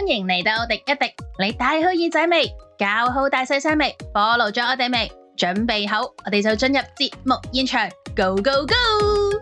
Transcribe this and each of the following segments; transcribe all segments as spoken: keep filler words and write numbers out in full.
迎嚟到廸一廸，你戴好耳仔未？搞好大細聲未？follow咗我哋未？準備好，我哋就進入節目現場 ，Go Go Go！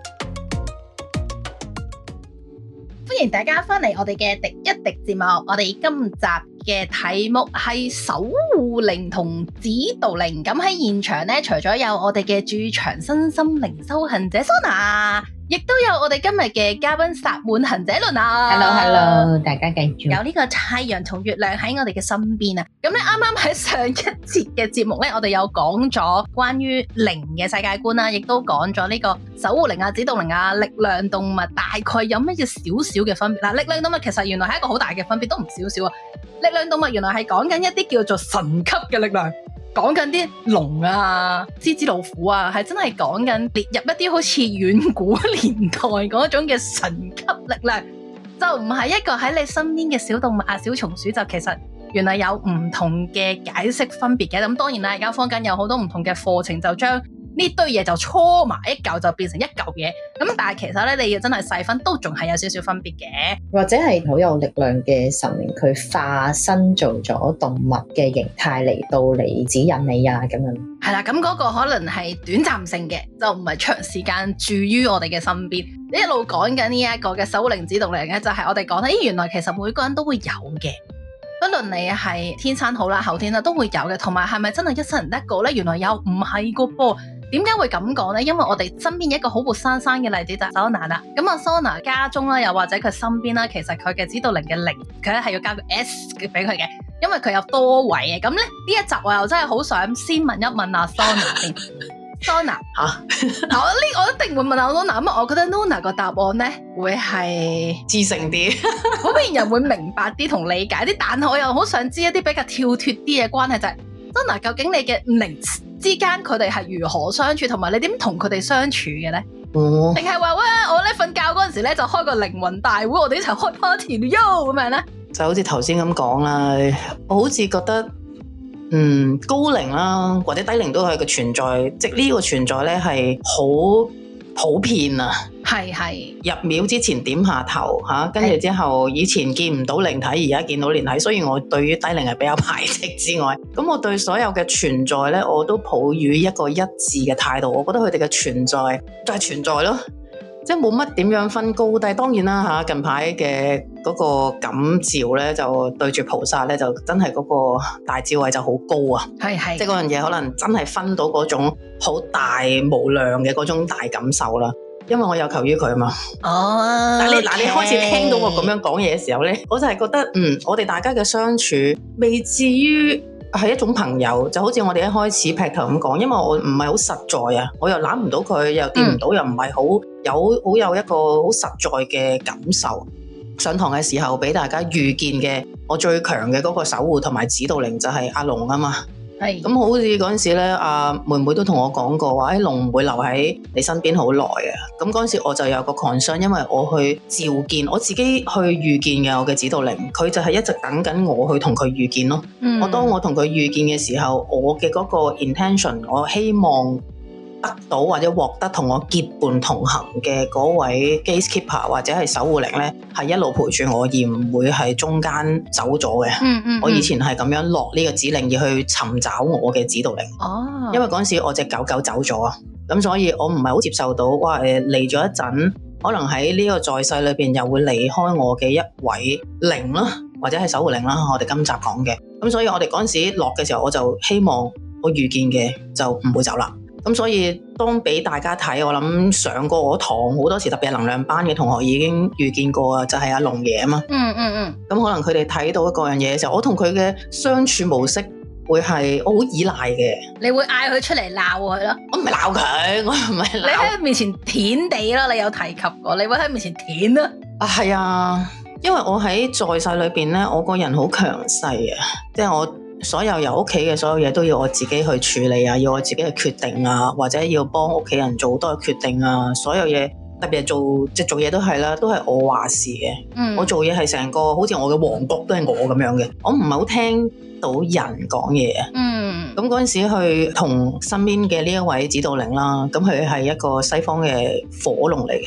歡迎大家返嚟我哋嘅廸一廸節目，我哋今集嘅題目係守護靈同指導靈。咁喺現場咧，除咗有我哋嘅駐場身心靈修行者 Sona，亦都有我哋今日嘅嘉賓薩滿行者倫啊 Hello Hello， 大家繼續有呢個太陽同月亮喺我哋嘅身邊啊！咁咧啱啱喺上一節嘅節目咧，我哋有講咗關於靈嘅世界觀啦，亦都講咗呢個守護靈啊、指導靈啊、力量動物大概有乜嘢少少嘅分別嗱。力量動物其實原來係一個好大嘅分別，都唔少少啊！力量動物原來係講緊一啲叫做神級嘅力量。講緊啲龍啊、獅子老虎啊，係真係講緊列入一啲好似遠古年代嗰種嘅神級力量，就唔係一個喺你身邊嘅小動物啊、小松鼠，就其實原來有唔同嘅解釋分別嘅。咁當然啦，而家坊間有好多唔同嘅課程，就將呢堆嘢就搓埋一嚿，就變成一嚿嘢。咁但係其實咧，你要真係細分，都仲係有少少分別嘅。 或者係好有力量嘅神靈，佢化身做咗動物嘅形態嚟到嚟指引你啊，咁樣。 係啦，咁嗰個可能係短暫性嘅，就唔係長時間住於我哋嘅身邊。你一路講緊呢一個嘅守護靈指導靈咧，就係、是、我哋講咧，咦，原來其實每個人都會有嘅，不論你係天生好啦、後天啦，都會有嘅。同埋係咪真係一生人一個咧？原來又唔係個噃。點解會咁講呢？因為我哋身邊一個好活生生嘅例子就係 Sona 啦。咁啊 Sona 家中啦，又或者佢身邊啦，其實佢嘅指導靈嘅靈，佢咧係要加個 S 俾佢嘅，因為佢有多位嘅。咁咧呢一集我又真係好想先問一問阿 Sona 先。Sona 吓，我呢我一定會問阿 Sona，咁我覺得 Sona 個答案咧會係知性啲， 普遍人會明白啲同理解啲，但係我又好想知一啲比較跳脫啲嘅關係，就係、是、Sona 究竟你嘅靈之間佢哋係如何相處，同埋你點同佢哋相處嘅咧？哦，定係話喂，我咧瞓覺嗰陣時咧就開個靈魂大會，我哋一齊開 party 咯咁樣咧？就好似頭先咁講啦， 我好似覺得，嗯，高靈啦或者低靈都係個存在，即係呢個存在咧係好普遍啊。 係係入廟之前點下頭吓，跟住之後以前見唔到靈體，而家見到靈體，所以我對於低靈係比較排斥之外，咁我對所有嘅存在咧，我都抱於一個一致嘅態度。我覺得佢哋嘅存在就係存在咯，即係冇乜點樣分高低。當然啦吓，近排嘅嗰個感召咧，就對住菩薩咧，就真係嗰個大智慧就好高啊。 係係， 即係嗰樣嘢可能真係分到嗰種好大無量嘅嗰種大感受啦。因為我有求於佢啊嘛， 哦， 但係你嗱，okay. 你開始聽到我咁樣講嘢嘅時候咧，我就係覺得，嗯，我哋大家嘅相處未至於係一種朋友，就好似我哋一開始劈頭咁講，因為我唔係好實在啊，我又攬唔到佢，又掂唔到，嗯、又唔係好有好有一個好實在嘅感受。上堂嘅時候俾大家遇見嘅，我最強嘅嗰個守護同埋指導靈就係阿龍啊嘛。係咁，好似嗰陣時咧，阿妹妹都同我講過話，誒，龍唔會留喺你身邊好耐啊。咁嗰陣時我就有個 concern，因為我去召見我自己去遇見嘅我嘅指導靈，佢就係一直等緊我去同佢遇見咯。嗯、我當我同佢遇見嘅時候，我嘅嗰個 intention，我希望得到或者獲得同我結伴同行嘅嗰位 gatekeeper 或者係守護靈咧，係一路陪住我，而唔會係中間走咗嘅。嗯嗯，我以前係咁樣落呢個指令而去尋找我嘅指導靈。哦，因為嗰陣時我隻狗狗走咗啊，咁所以我唔係好接受到，哇誒嚟咗一陣，可能喺呢個在世裏邊又會離開我嘅一位靈啦，或者係守護靈啦。我哋今集講嘅，咁所以我哋嗰陣時落嘅時候，我就希望我遇見嘅就唔會走啦。咁所以當俾大家睇，我諗上過我堂好多時，特別係能量班嘅同學已經遇見過啊，就係阿龍爺啊嘛。嗯嗯嗯。咁可能佢哋睇到嗰樣嘢嘅時候，我同佢嘅相處模式會係我好依賴嘅。你會嗌佢出嚟鬧佢咯？我唔係鬧佢，我唔係鬧。你喺佢面前舔地咯，你有提及過，你會喺面前舔啊？啊係啊，因為我喺在，在世裏邊咧，我個人好強勢啊，即係我。所有由屋企嘅所有嘢都要我自己去處理啊，要我自己去決定啊，或者要幫屋企人做好多嘅決定啊，所有嘢特別係做即係做嘢都係啦，都係我話事嘅。嗯，我做嘢係成個好似我嘅王國都係我咁樣嘅，我唔係好聽到人講嘢啊。嗯，咁嗰陣時去同身邊嘅呢一位指導靈啦，咁佢係一個西方嘅火龍嚟嘅。咁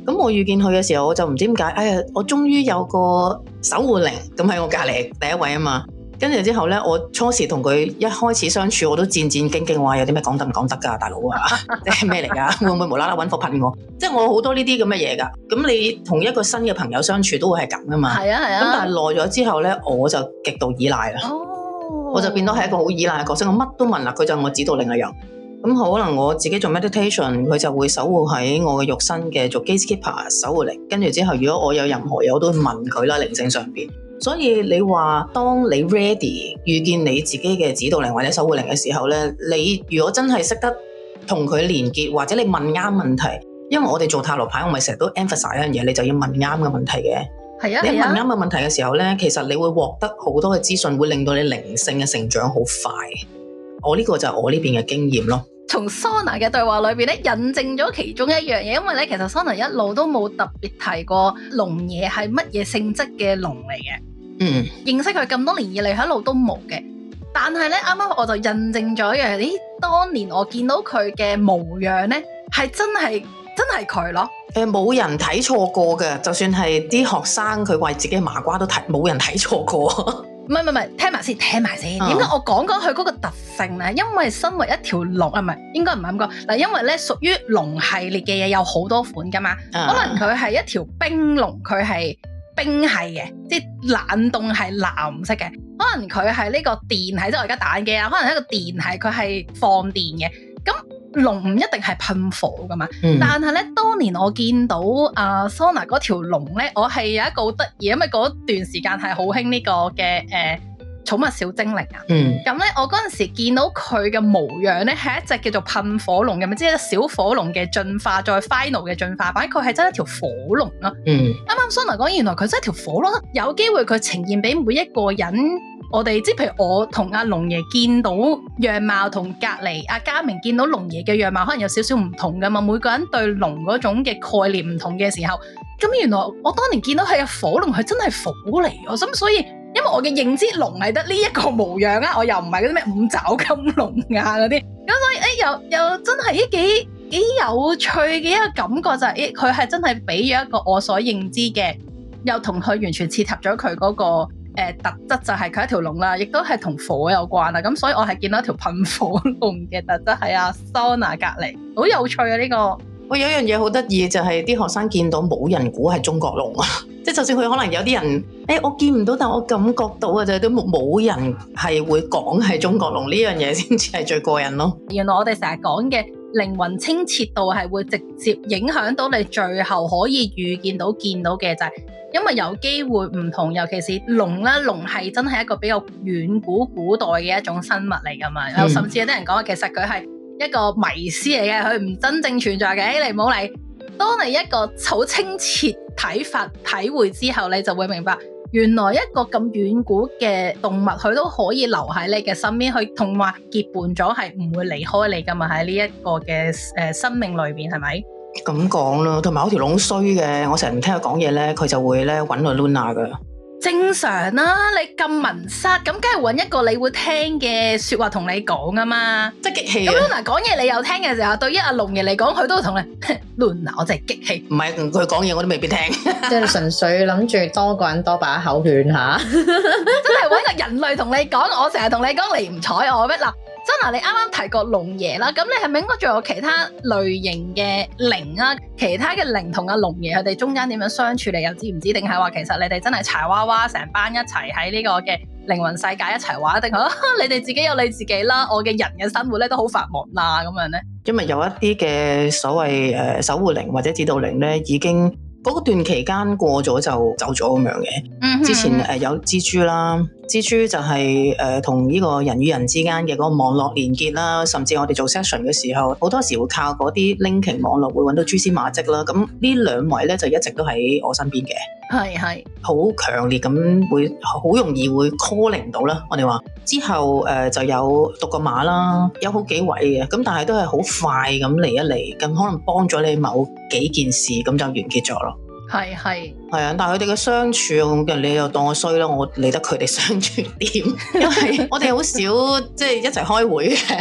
咁我遇見佢嘅時候，我就唔知點解，哎呀，我終於有個守護靈咁喺我隔離第一位啊嘛。跟住之後咧，我初時同佢一開始相處，我都戰戰兢兢，話有啲咩講得唔講得㗎，大佬啊，即係咩嚟㗎？會唔會無啦啦揾火噴我？即係我好多呢啲咁嘅嘢㗎。咁你同一個新嘅朋友相處都會係咁㗎嘛？ 係啊係啊。 咁但係耐咗之後咧，我就極度依賴啦。哦，我就變到係一個好依賴嘅角色，我乜都問啦，佢就係我指導靈嘅人。咁可能我自己做 meditation，佢就會守護喺我嘅肉身嘅做 gatekeeper 守護靈。跟住之後，如果我有任何嘢，我都會問佢啦，靈性上邊。所以你話，當你 ready 遇見你自己嘅指導靈或者守護靈嘅時候咧，你如果真係識得同佢連結，或者你問啱問題，因為我哋做塔羅牌，我咪成日都 emphasize 一樣嘢，你就要問啱嘅問題嘅。係啊，你問啱嘅問題嘅時候咧，其實你會獲得好多嘅資訊，會令到你靈性嘅成長好快。我呢個就係我呢邊嘅經驗咯。 從 Sona 嘅對話裏邊咧，印證咗其中一樣嘢，因為咧其實 Sona 一路都冇特別提過龍爺係乜嘢性質嘅龍嚟嘅。 嗯，認識佢咁多年以嚟，一路都冇嘅。但係咧，啱啱我就印證咗一樣，咦，當年我見到佢嘅模樣咧，係真係真係佢咯。 誒、呃，冇人睇錯過嘅，就算係啲學生佢為自己麻瓜都睇，冇人睇錯過。 唔係唔係，聽埋先，聽埋先。點解、嗯、我講講佢嗰個特性咧？因為身為一條龍啊，唔係應該唔係咁講嗱，因為咧屬於龍系列嘅嘢有好多款噶嘛，嗯、可能佢係一條冰龍，佢係冰系嘅，即係冷凍係藍色嘅。可能佢係呢個電系，即係我而家打緊機啊，可能係一個電系，佢係放電嘅。咁龍唔一定係噴火噶嘛，嗯、但係咧，當年我見到阿、呃、Sona 嗰條龍咧，我係有一個好得意，因為嗰段時間係好興呢個嘅誒寵物小精靈啊。咁咧、嗯，我嗰陣時見到佢嘅模樣咧，係一隻叫做噴火龍嘅，咪即係小火龍嘅進化，再 final 嘅進化版，佢係真係一條火龍咯。啱啱 Sona 講，原來佢真係條火龍，有機會佢呈現俾每一個人。我哋即係譬如我同阿龍爺見到樣貌，同隔離阿嘉明見到龍爺嘅樣貌，可能有少少唔同噶嘛。每個人對龍嗰種嘅概念唔同嘅時候，咁原來我當年見到係火龍，係真係火嚟。我咁所以，因為我嘅認知龍係得呢一個模樣啊，我又唔係嗰啲咩五爪金龍啊嗰啲，咁所以誒、欸、又又真係啲幾幾有趣嘅一個感覺就係、是，誒佢係真係俾咗一個我所認知嘅，又同佢完全切合咗佢嗰個。誒、呃，特質就係佢一條龍啦，亦都係同火有關啦，咁所以我係見到一條噴火龍嘅特質喺阿 Sona 隔籬，好有趣啊呢、這個。 喂，有一樣嘢好得意就係、是、啲學生見到冇人估係中國龍啊，即係就算佢可能有啲人，誒、欸、我見唔到，但我感覺到啊，就係都冇人係會講係中國龍呢樣嘢先至係最過癮咯。 原來我哋成日講嘅靈魂清澈度係會直接影響到你最後可以預見到見到嘅就係、是。因為有機會唔同，尤其是龍啦，龍係真係一個比較遠古古代嘅一種生物嚟噶嘛，有、嗯、甚至有啲人講，其實佢係一個迷思嚟嘅，佢唔真正存在嘅。你唔好理，當你一個好清澈睇法體會之後，你就會明白，原來一個咁遠古嘅動物，佢都可以留喺你嘅身邊，去同埋結伴咗，係唔會離開你噶嘛。喺呢一個嘅誒、呃、生命裏邊，係咪？ 咁講咯，同埋我條龍衰嘅，我成日唔聽佢講嘢咧，佢就會咧揾我 Luna 噶。 正常啦、啊，你咁文塞，咁梗係揾一個你會聽嘅說話同你講啊嘛， 即係激氣。咁 Luna 講嘢你又聽嘅時候，對於阿龍爺嚟講，佢都會同你 Luna，我真係激氣。 唔係佢講嘢我都未必聽， 即係純粹諗住多個人多把口勸下， 真係揾個人類同你講，我成日同你講你唔睬我咩嗱？真係你啱啱提過龍爺啦，咁你係咪應該仲有其他類型嘅靈啊？其他嘅靈同阿龍爺佢哋中間點樣相處，你又知唔知？定係話其實你哋真係柴娃娃成班一齊喺呢個嘅靈魂世界一齊玩，定係你哋自己有你自己啦？我嘅人嘅生活咧都好繁忙啦，咁樣咧。因為有一啲嘅所謂誒守護靈或者指導靈咧，已經嗰段期間過咗就走咗咁樣嘅。嗯哼，之前誒有蜘蛛啦。蜘蛛就係誒同呢個人與人之間嘅嗰個網絡連結啦，甚至我哋做 session 嘅時候，好多時會靠嗰啲 linking 網絡會揾到蛛絲馬跡啦。咁呢兩位咧就一直都喺我身邊嘅，係係好強烈咁會好容易會 calling 到啦。我哋話之後誒、呃、就有讀個碼啦，有好幾位嘅，咁但係都係好快咁嚟一嚟，咁可能幫咗你某幾件事，咁就完結咗咯。係係係啊，但係佢哋嘅相處，你又當我衰啦，我理得佢哋相處點？因為我哋好少即係一齊開會嘅。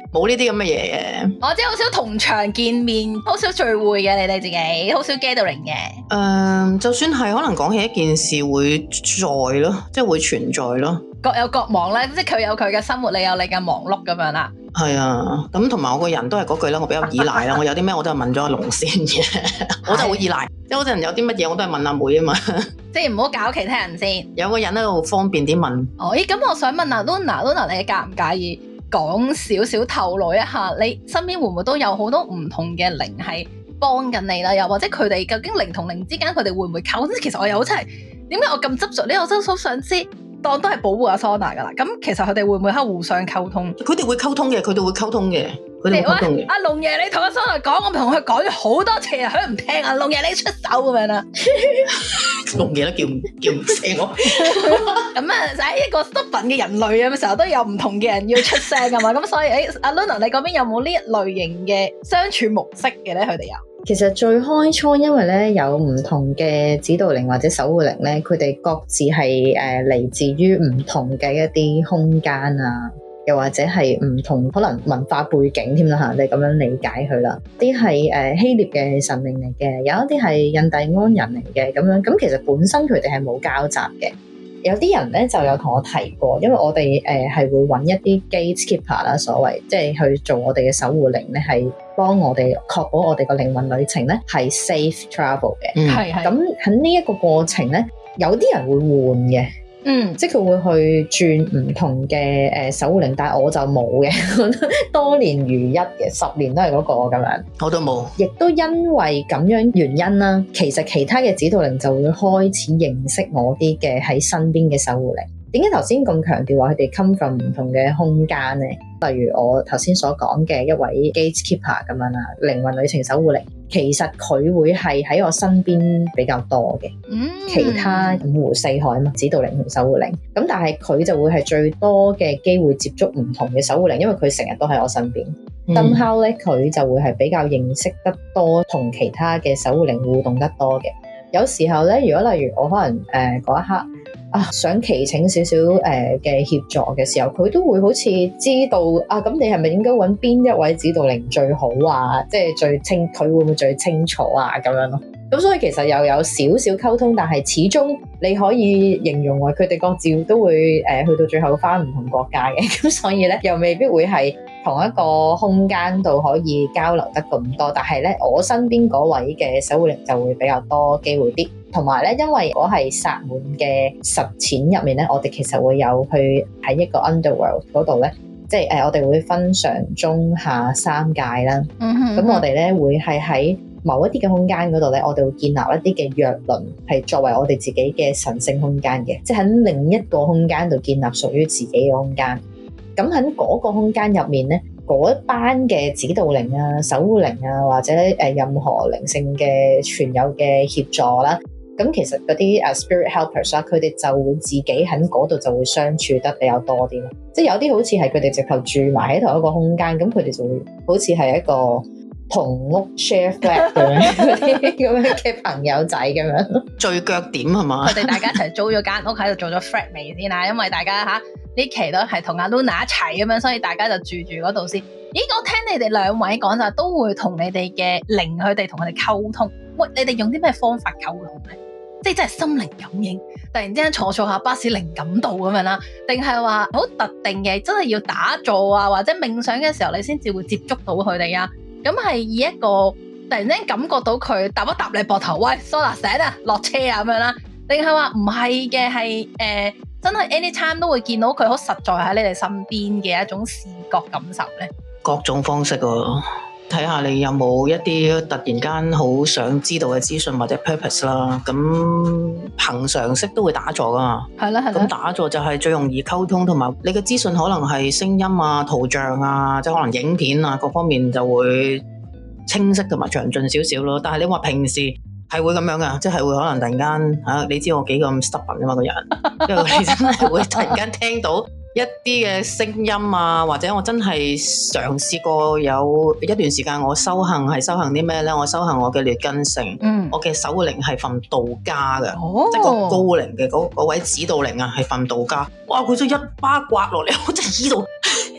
冇呢啲咁嘅嘢嘅。 我知好少同場見面，好少聚會嘅，你哋自己好少 gathering 嘅。誒、 呃，就算係可能講起一件事會在咯，即係會存在咯。 各有各忙咧，即係佢有佢嘅生活，你有你嘅忙碌咁樣啦。係啊，咁同埋我個人都係嗰句啦，我比較依賴啦。我有啲咩我都係問咗阿龍先嘅，我真係好依賴。即係嗰陣有啲乜嘢我都係問阿妹啊嘛。即係唔好搞其他人先，有個人喺度方便啲問。哦，咦，咁我想問啊 Luna，Luna 你介唔介意講少少透露一下，你身邊會唔會都有好多唔同嘅靈係幫緊你啦？又或者佢哋究竟靈同靈之間佢哋會唔會溝通？其實我又真係點解我咁執着呢？我真係好想知。當都係保護阿 Sona 噶啦，咁其實佢哋會唔會喺互相溝通？佢哋會溝通嘅，佢哋會溝通嘅，佢哋會溝通嘅。阿龍爺，你同阿 Sona 講，我同佢講咗好多次啊，佢唔聽啊。龍爺，你出手咁樣啦。龍爺都叫唔叫唔醒我。咁啊，喺一個失份嘅人類啊，成日都有唔同嘅人要出聲噶嘛，咁所以誒，阿 Luna 你嗰邊有冇呢一類型嘅相處模式嘅咧？佢哋有。 其實最開初因為咧有唔同嘅指導靈或者守護靈咧，佢哋各自係誒嚟自於唔同嘅一啲空間啊，又或者係唔同可能文化背景添啦嚇，你咁樣理解佢啦。啲係誒希臘嘅神靈嚟嘅，有一啲係印第安人嚟嘅咁樣。咁其實本身佢哋係冇交集嘅。有啲人咧就有同我提過，因為我哋誒係會揾一啲 gatekeeper 啦，所謂即係去做我哋嘅守護靈咧，係幫我哋確保我哋個靈魂旅程咧係 safe travel 嘅。嗯，係係。咁喺呢一個過程咧，有啲人會換嘅。嗯，即係佢會去轉唔同嘅誒守護靈，但係我就冇嘅，多年如一嘅，十年都係嗰個咁樣。我都冇，亦都因為咁樣原因啦，其實其他嘅指導靈就會開始認識我啲嘅喺身邊嘅守護靈。點解頭先咁強調話佢哋 come from 唔同嘅空間呢？例如我頭先所講嘅一位 gatekeeper 咁樣啦，靈魂旅程守護靈，其實佢會係喺我身邊比較多嘅。嗯，其他五湖四海嘛，指導靈同守護靈，咁但係佢就會係最多嘅機會接觸唔同嘅守護靈，因為佢成日都喺我身邊。somehow 咧，佢就會係比較認識得多，同其他嘅守護靈互動得多嘅。有時候咧，如果例如我可能誒嗰、呃、一刻啊想祈請少少誒嘅協助嘅時候，佢都會好似知道啊，咁你係咪應該揾邊一位指導靈最好啊？即係最清，佢會唔會最清楚啊？咁樣咯。咁所以其實又有少少溝通，但係始終你可以形容為佢哋各自都會誒、呃、去到最後返唔同國家嘅，咁所以咧又未必會係同一個空間度可以交流得咁多。但係咧，我身邊嗰位嘅守護靈就會比較多機會啲，同埋咧，因為我係薩滿嘅實踐入面咧，我哋其實會有去喺一個 underworld 嗰度咧，即係誒、呃、我哋會分上中下三界啦。嗯哼，咁我哋咧會係喺某一啲嘅空間嗰度咧，我哋會建立一啲嘅藥輪，係作為我哋自己嘅神聖空間嘅，即係喺另一個空間度建立屬於自己嘅空間。咁喺嗰個空間入面咧，嗰一班嘅指導靈啊、守護靈啊，或者誒任何靈性嘅存有嘅協助啦，咁其實嗰啲誒 spirit helpers 啦，佢哋就會自己喺嗰度就會相處得比較多啲咯。即係有啲好似係佢哋直頭住埋喺同一個空間，咁佢哋就會好似係一個同屋 share flat 咁樣嗰啲咁樣嘅朋友仔咁樣，聚腳點係嘛？佢哋大家一齊租咗間屋喺度做咗 flat 未先啦，因為大家吓呢期都係同阿 Luna 一齊咁樣，所以大家就住住嗰度先。咦，我聽你哋兩位講就都會同你哋嘅靈，佢哋同佢哋溝通。喂，你哋用啲咩方法溝通咧？即係真係心靈感應，突然之間坐坐下巴士靈感到咁樣啦，定係話好特定嘅，真係要打坐啊，或者冥想嘅時候你先至會接觸到佢哋啊？咁係以一個突然間感覺到佢搭一搭你膊頭，喂 Sona 醒啊，落車啊咁樣啦，定係話唔係嘅，係誒真係 anytime 都會見到佢好實在喺你哋身邊嘅一種視覺感受咧？各種方式喎，睇下你有冇一啲突然間好想知道嘅資訊或者 purpose 啦。咁憑常識都會打坐噶嘛，係啦係啦。咁打坐就係最容易溝通，同埋你嘅資訊可能係聲音啊、圖像啊，即係可能影片啊，各方面就會清晰同埋詳盡少少咯。但係你話平時係會咁樣噶，即係會可能突然間嚇、啊，你知我幾咁 stubborn 啊嘛個人，因為你真係會突然間聽到一啲嘅聲音啊，或者我真係嘗試過有一段時間我修行係修行啲咩咧？我修行我嘅劣根性，嗯、我嘅守護靈係份道家嘅，哦、即係個高靈嘅嗰位指導靈啊，係份道家。哇！佢就一巴刮落嚟，我真係依度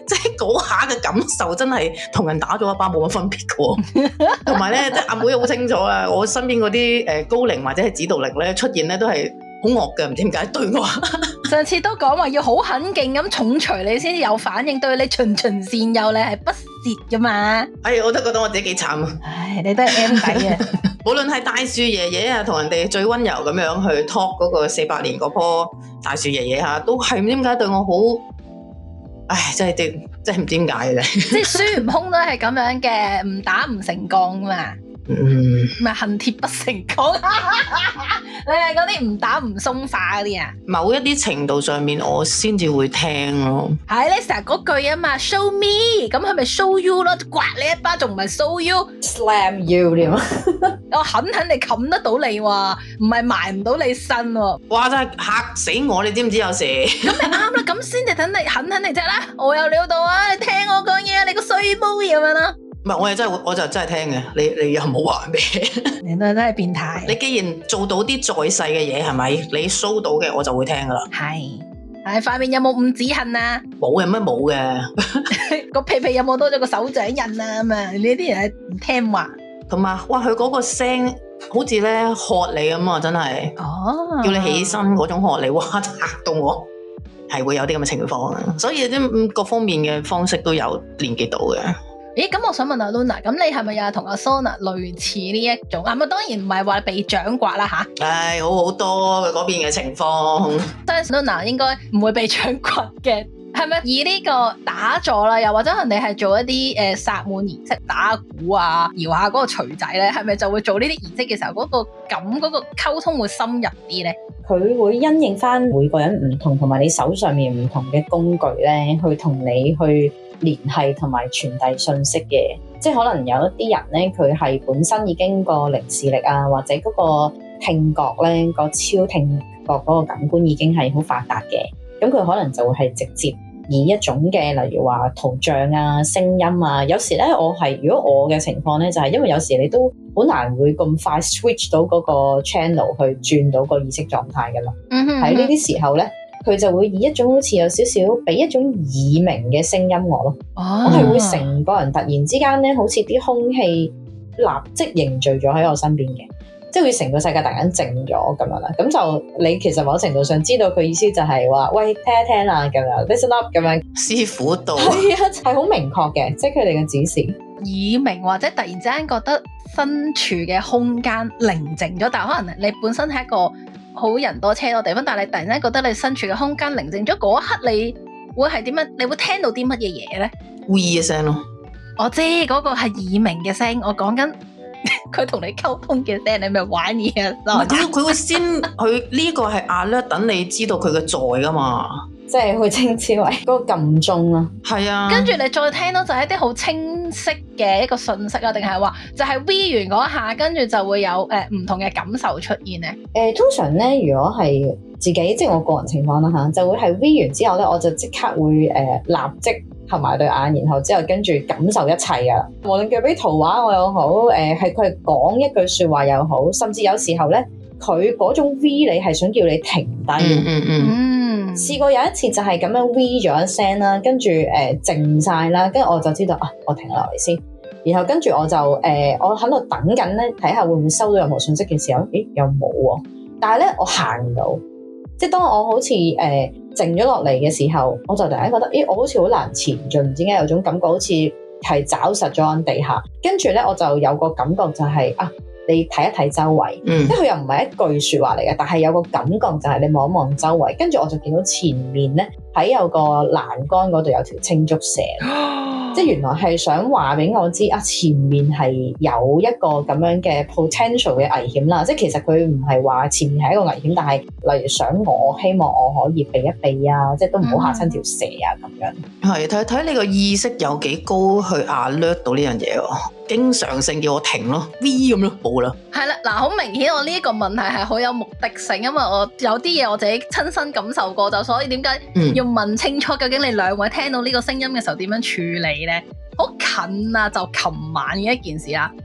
即係嗰下嘅感受真係同人打咗一巴冇乜分別嘅。同埋咧，即係阿妹好清楚啊，我身邊嗰啲誒高靈或者係指導靈咧出現咧都係好惡嘅，唔知點解對我。 上次都講話要好狠勁咁重錘你先至有反應，對你循循善誘，你係不屑噶嘛？ 哎，我都覺得我自己幾慘啊！ 唉，你都係 M 底啊！ 無論係大樹爺爺啊，同人哋最溫柔咁樣去 talk 嗰個四百年嗰棵大樹爺爺吓，都係唔知點解對我好，唉，真係啲真係唔知點解嘅。即係孫悟空都係咁樣嘅，唔打唔成鋼嘛。 嗯， 咪恨鐵不成鋼，你係嗰啲唔打唔鬆化嗰啲啊？ 某一啲程度上面，我先至會聽咯。 係你成日嗰句啊嘛 ，show me，咁係咪 show you 咯？刮你一巴仲唔係 show you，slam you 點啊？ 我狠狠地冚得到你喎，唔係埋唔到你身喎。 哇！真係嚇死我，你知唔知有時？ 咁咪啱啦，咁先至等你狠狠地啫啦。我有料到啊，你聽我講嘢，你個衰妹咁樣啦。 唔係，我係真係，我就真係聽嘅。你你又冇話咩？ 你都真係變態。 你既然做到啲在世嘅嘢，係咪？你 show 到嘅，我就會聽噶啦。 係，係塊面有冇五指痕啊？ 冇嘅，咩冇嘅？ 個屁屁有冇多咗個手掌印啊？咁啊，你啲人係唔聽話。同埋， 哇！佢嗰個聲好似咧喝你咁啊，真係。 哦。 叫你起身嗰種喝你，哇！嚇到我，係會有啲咁嘅情況啊。所以啲各方面嘅方式都有連結到嘅。 咦，咁我想問阿 Luna，咁你係咪又係同阿 Sona 類似呢一種啊？咪當然唔係話被掌摑啦吓， 唉，好好多嗰邊嘅情況。 但係 Luna 應該唔會被掌摑嘅，係咪？以呢個打坐啦，又或者可能你係做一啲誒薩滿儀式，打鼓啊，搖下嗰個錘仔咧，係咪就會做呢啲儀式嘅時候，嗰、嗰個感嗰、嗰個溝通會深入啲咧？ 佢會因應翻每個人唔同，同埋你手上面唔同嘅工具咧，去同你去聯繫同埋傳遞信息嘅。即係可能有一啲人咧，佢係本身已經個靈視力啊，或者嗰個聽覺咧，個超聽覺嗰個感官已經係好發達嘅。咁佢可能就會係直接以一種嘅，例如話圖像啊、聲音啊。有時咧，我係如果我嘅情況咧，就係、是、因為有時你都好難會咁快 switch 到嗰個 channel 去轉到個意識狀態噶啦。喺呢啲時候咧，佢就會以一種好似有少少俾一種耳鳴嘅聲音我咯。Oh. 我係會成個人突然之間咧，好似啲空氣立即凝聚咗喺我身邊嘅，即係會成個世界突然間靜咗咁樣啦。咁就你其實某程度上知道佢意思就係話，喂，聽一聽啦，咁樣 listen up 咁樣。 師傅道係啊，係好明確嘅，即係佢哋嘅指示。 耳鳴或者突然之間覺得身處嘅空間寧靜咗，但係可能你本身係一個好人多車多地方，但係你突然間覺得你身處嘅空間寧靜咗，嗰一刻你會係點樣？你會聽到啲乜嘢嘢咧？ 嗚嘅聲咯。 我知嗰個係耳鳴嘅聲，我講緊佢同你溝通嘅聲，你咪玩嘢啊！ 佢佢會先，佢呢個係 alert 等你知道佢嘅在噶嘛。 即係佢稱之為嗰個撳鐘啦， 係啊。 跟住你再聽到就係一啲好清晰嘅一個訊息啊，定係話就係 V 完嗰一下，跟住就會有誒唔、呃、同嘅感受出現咧。誒、 呃，通常咧，如果係自己即係我個人情況啦嚇，就會係 V 完之後咧，我就即刻會誒、呃、立即合埋對眼，然後之後跟住感受一切噶。無論佢俾圖畫我又好，誒係佢係講一句説話又好，甚至有時候咧，佢嗰種 V 你係想叫你停低。 嗯嗯嗯。嗯試過有一次就係咁樣 V 咗一聲啦，跟住誒靜晒啦，跟住我就知道啊，我停落嚟先。然後跟住我就誒、呃，我喺度等緊咧，睇下會唔會收到任何信息嘅時候，咦又冇喎。但係咧我行唔到，即係當我好似誒、呃、靜咗落嚟嘅時候，我就突然間覺得，咦我好似好難前進，唔知點解有種感覺好似係抓實咗喺地下。跟住咧我就有個感覺就係、是、啊。你睇一睇周圍，嗯、即係佢又唔係一句説話嚟嘅，但係有個感覺就係你望一望周圍，跟住我就見到前面咧喺有個欄杆嗰度有條青竹蛇，即係原來係想話俾我知啊，前面係有一個咁樣嘅 potential 嘅危險啦。即係其實佢唔係話前面係一個危險，但係例如想我希望我可以避一避啊，即係都唔好嚇親條蛇啊咁樣。 係睇睇你個意識有幾高去 alert 到呢樣嘢喎。經常性叫我停咯 ，V 咁咯，冇啦。 係啦，嗱，好明顯我呢個問題係好有目的性，因為我有啲嘢我自己親身感受過，就所以點解要問清楚，究竟你兩位聽到呢個聲音嘅時候點樣處理咧？好近啊，就琴晚嘅一件事啦。咁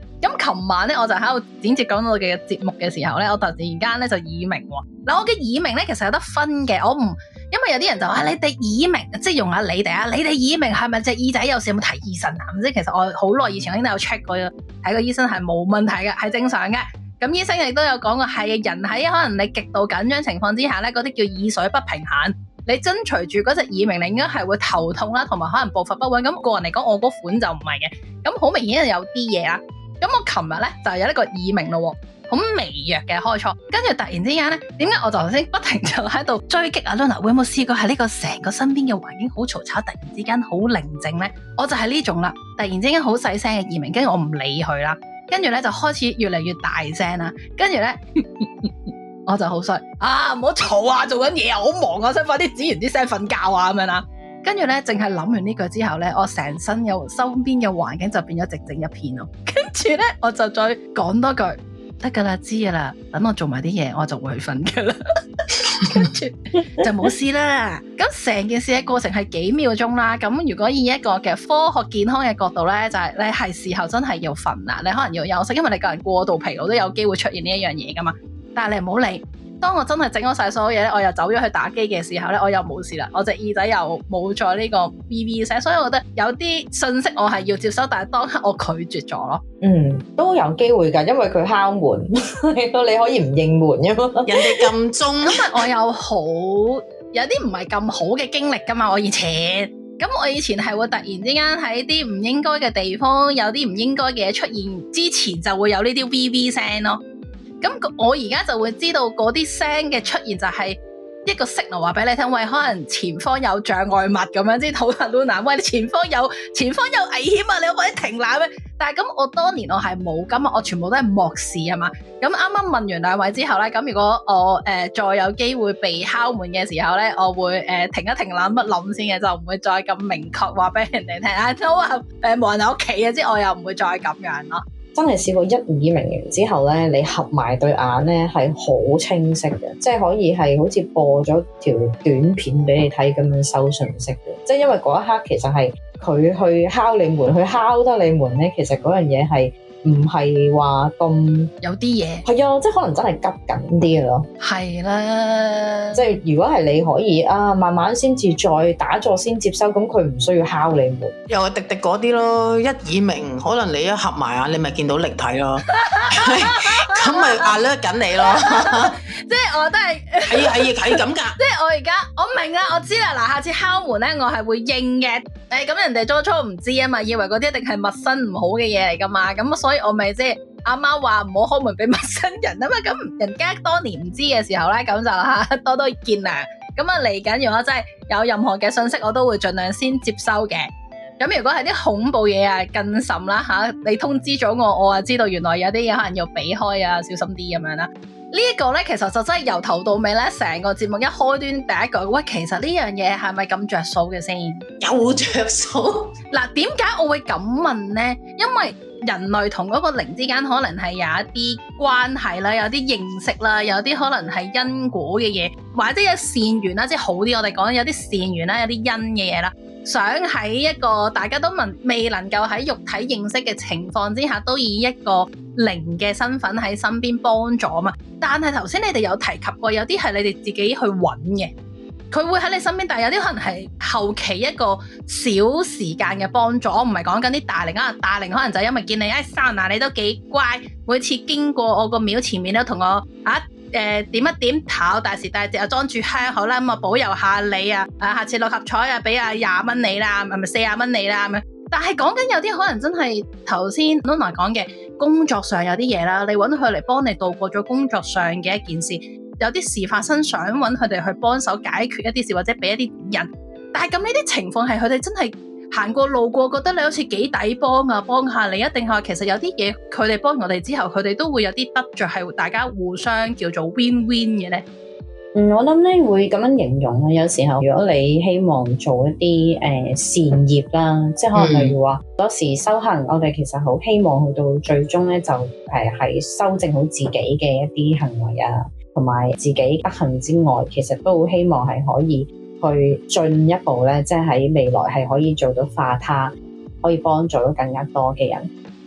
琴晚咧我就喺度剪接講到嘅節目嘅時候咧，我突然間咧就耳鳴喎。嗱，我嘅耳鳴咧其實有得分嘅，我唔因為有啲人就話你哋耳鳴，即係用下你哋啊，你哋耳鳴係咪隻耳仔有事有冇睇醫生啊？唔知其實我好耐以前我已經有 check 過，睇個醫生係冇問題嘅，係正常嘅。咁醫生亦都有講過，係人喺可能你極度緊張情況之下咧，嗰啲叫耳水不平衡。你跟隨住嗰隻耳鳴，你應該係會頭痛啦，同埋可能步伐不穩。咁個人嚟講，我嗰款就唔係嘅。咁好明顯係有啲嘢啦。咁我琴日咧就有一個耳鳴咯，好微弱嘅開初，跟住突然之間咧，點解我頭先不停就喺度追擊阿 Luna？會有冇試過喺呢個成個身邊嘅環境好嘈吵，突然之間好寧靜咧？我就係呢種啦，突然之間好細聲嘅耳鳴，跟住我唔理佢啦，跟住咧就開始越嚟越大聲啦，跟住咧。我就好衰啊！唔好嘈啊，做緊嘢啊，好忙啊，想快啲剪完啲聲瞓覺啊咁樣啦。跟住咧，淨係諗完呢句之後咧，我成身有身邊嘅環境就變咗寂靜一片咯。跟住咧，我就再講多句得噶啦，知噶啦，等我做埋啲嘢，我就會去瞓噶啦。跟住就冇事啦。咁成件事嘅過程係幾秒鐘啦。咁如果以一個嘅科學健康嘅角度咧，就係、是、你係時候真係要瞓啦，你可能要休息，因為你個人過度疲勞都有機會出現呢一樣嘢噶嘛。但係你唔好理，當我真係整咗晒所有嘢咧，我又走咗去打機嘅時候咧，我又冇事啦，我隻耳仔又冇再呢個 V V 聲，所以我覺得有啲信息我係要接收，但係當刻我拒絕咗咯。 嗯，都有機會㗎，因為佢敲門，你可以唔應門㗎嘛。 人哋撳鐘， 咁我有好有啲唔係咁好嘅經歷㗎嘛，我以前。咁我以前係會突然之間喺啲唔應該嘅地方，有啲唔應該嘅嘢出現之前，就會有呢啲 V V 聲咯。咁我而家就會知道嗰啲聲嘅出現就係一個 signal 話俾你聽，喂，可能前方有障礙物咁樣，即係討論 Luna，喂，你前方有前方有危險啊，你可唔可以停下咩？但係咁我當年我係冇咁啊，我全部都係漠視啊嘛。咁啱啱問完兩位之後咧，咁如果我誒、呃、再有機會被敲門嘅時候咧，我會誒、呃、停一停諗一諗先嘅，就唔會再咁明確話俾人哋聽啊，都話誒冇人喺屋企嘅，即係我又唔會再咁樣咯。 真係試過一耳鳴完之後咧，你合埋對眼咧係好清晰嘅，即係可以係好似播咗條短片俾你睇咁樣收信息嘅。即係因為嗰一刻其實係佢去敲你門，去敲得你門咧，其實嗰樣嘢係唔係話咁有啲嘢係啊，即係可能真係急緊啲嘅咯。 係啦， 即係如果係你可以啊，慢慢先至再打坐先接收，咁佢唔需要敲你門。 又係滴滴嗰啲咯，一耳鳴，可能你一合埋眼，你咪見到靈體咯，咁咪壓叻緊你咯。 即係我都係係係係咁㗎。 即係我而家我明啦，我知啦。嗱，下次敲門咧，我係會應嘅。誒，咁人哋初初唔知啊嘛，以為嗰啲一定係陌生唔好嘅嘢嚟噶嘛，咁所以我咪即係阿媽話唔好開門俾陌生人啊嘛。咁人家當年唔知嘅時候咧，咁就吓多多見諒。咁啊嚟緊，如果真係有任何嘅信息，我都會盡量先接收嘅。咁如果係啲恐怖嘢啊，更甚啦吓，你通知咗我，我啊知道原來有啲嘢可能要避開啊，小心啲咁樣啦。呢一個咧，其實就真係由頭到尾咧，成個節目一開端第一句，喂，其實呢樣嘢係咪咁着數嘅先？ 有着數。 嗱，點解我會咁問咧？因為人類同嗰個靈之間可能係有一啲關係啦，有啲認識啦，有啲可能係因果嘅嘢，或者有善緣啦，即係好啲。我哋講有啲善緣啦，有啲因嘅嘢啦。想喺一個大家都問未能夠喺肉體認識嘅情況之下，都以一個靈嘅身份喺身邊幫助嘛。但係頭先你哋有提及過，有啲係你哋自己去揾嘅，佢會喺你身邊，但係有啲可能係後期一個小時間嘅幫助。我唔係講緊啲大靈啊，大靈可能就因為見你誒生嗱，你都幾乖，每次經過我個廟前面都同我啊誒、呃、點一點頭，大時大節又裝住香好啦，咁啊保佑下你啊，啊下次六合彩啊俾啊廿蚊你啦，係咪四廿蚊你啦咁樣。但係講緊有啲可能真係頭先 Luna 講嘅工作上有啲嘢啦，你揾佢嚟幫你度過咗工作上嘅一件事，有啲事發生想揾佢哋去幫手解決一啲事或者俾一啲人，但係咁呢啲情況係佢哋真係行過路過覺得你好似幾抵幫啊，幫下你，一定係其實有啲嘢佢哋幫我哋之後，佢哋都會有啲得着，係大家互相叫做 win win 嘅咧。 嗯，我諗咧會咁樣形容啊。有時候如果你希望做一啲誒、呃、善業啦，即係可能例如話，有、嗯、時修行，我哋其實好希望去到最終咧，就誒係修正好自己嘅一啲行為啊，同埋自己德行之外，其實都好希望係可以去進一步咧，即係喺未來係可以做到化他，可以幫助到更加多嘅人。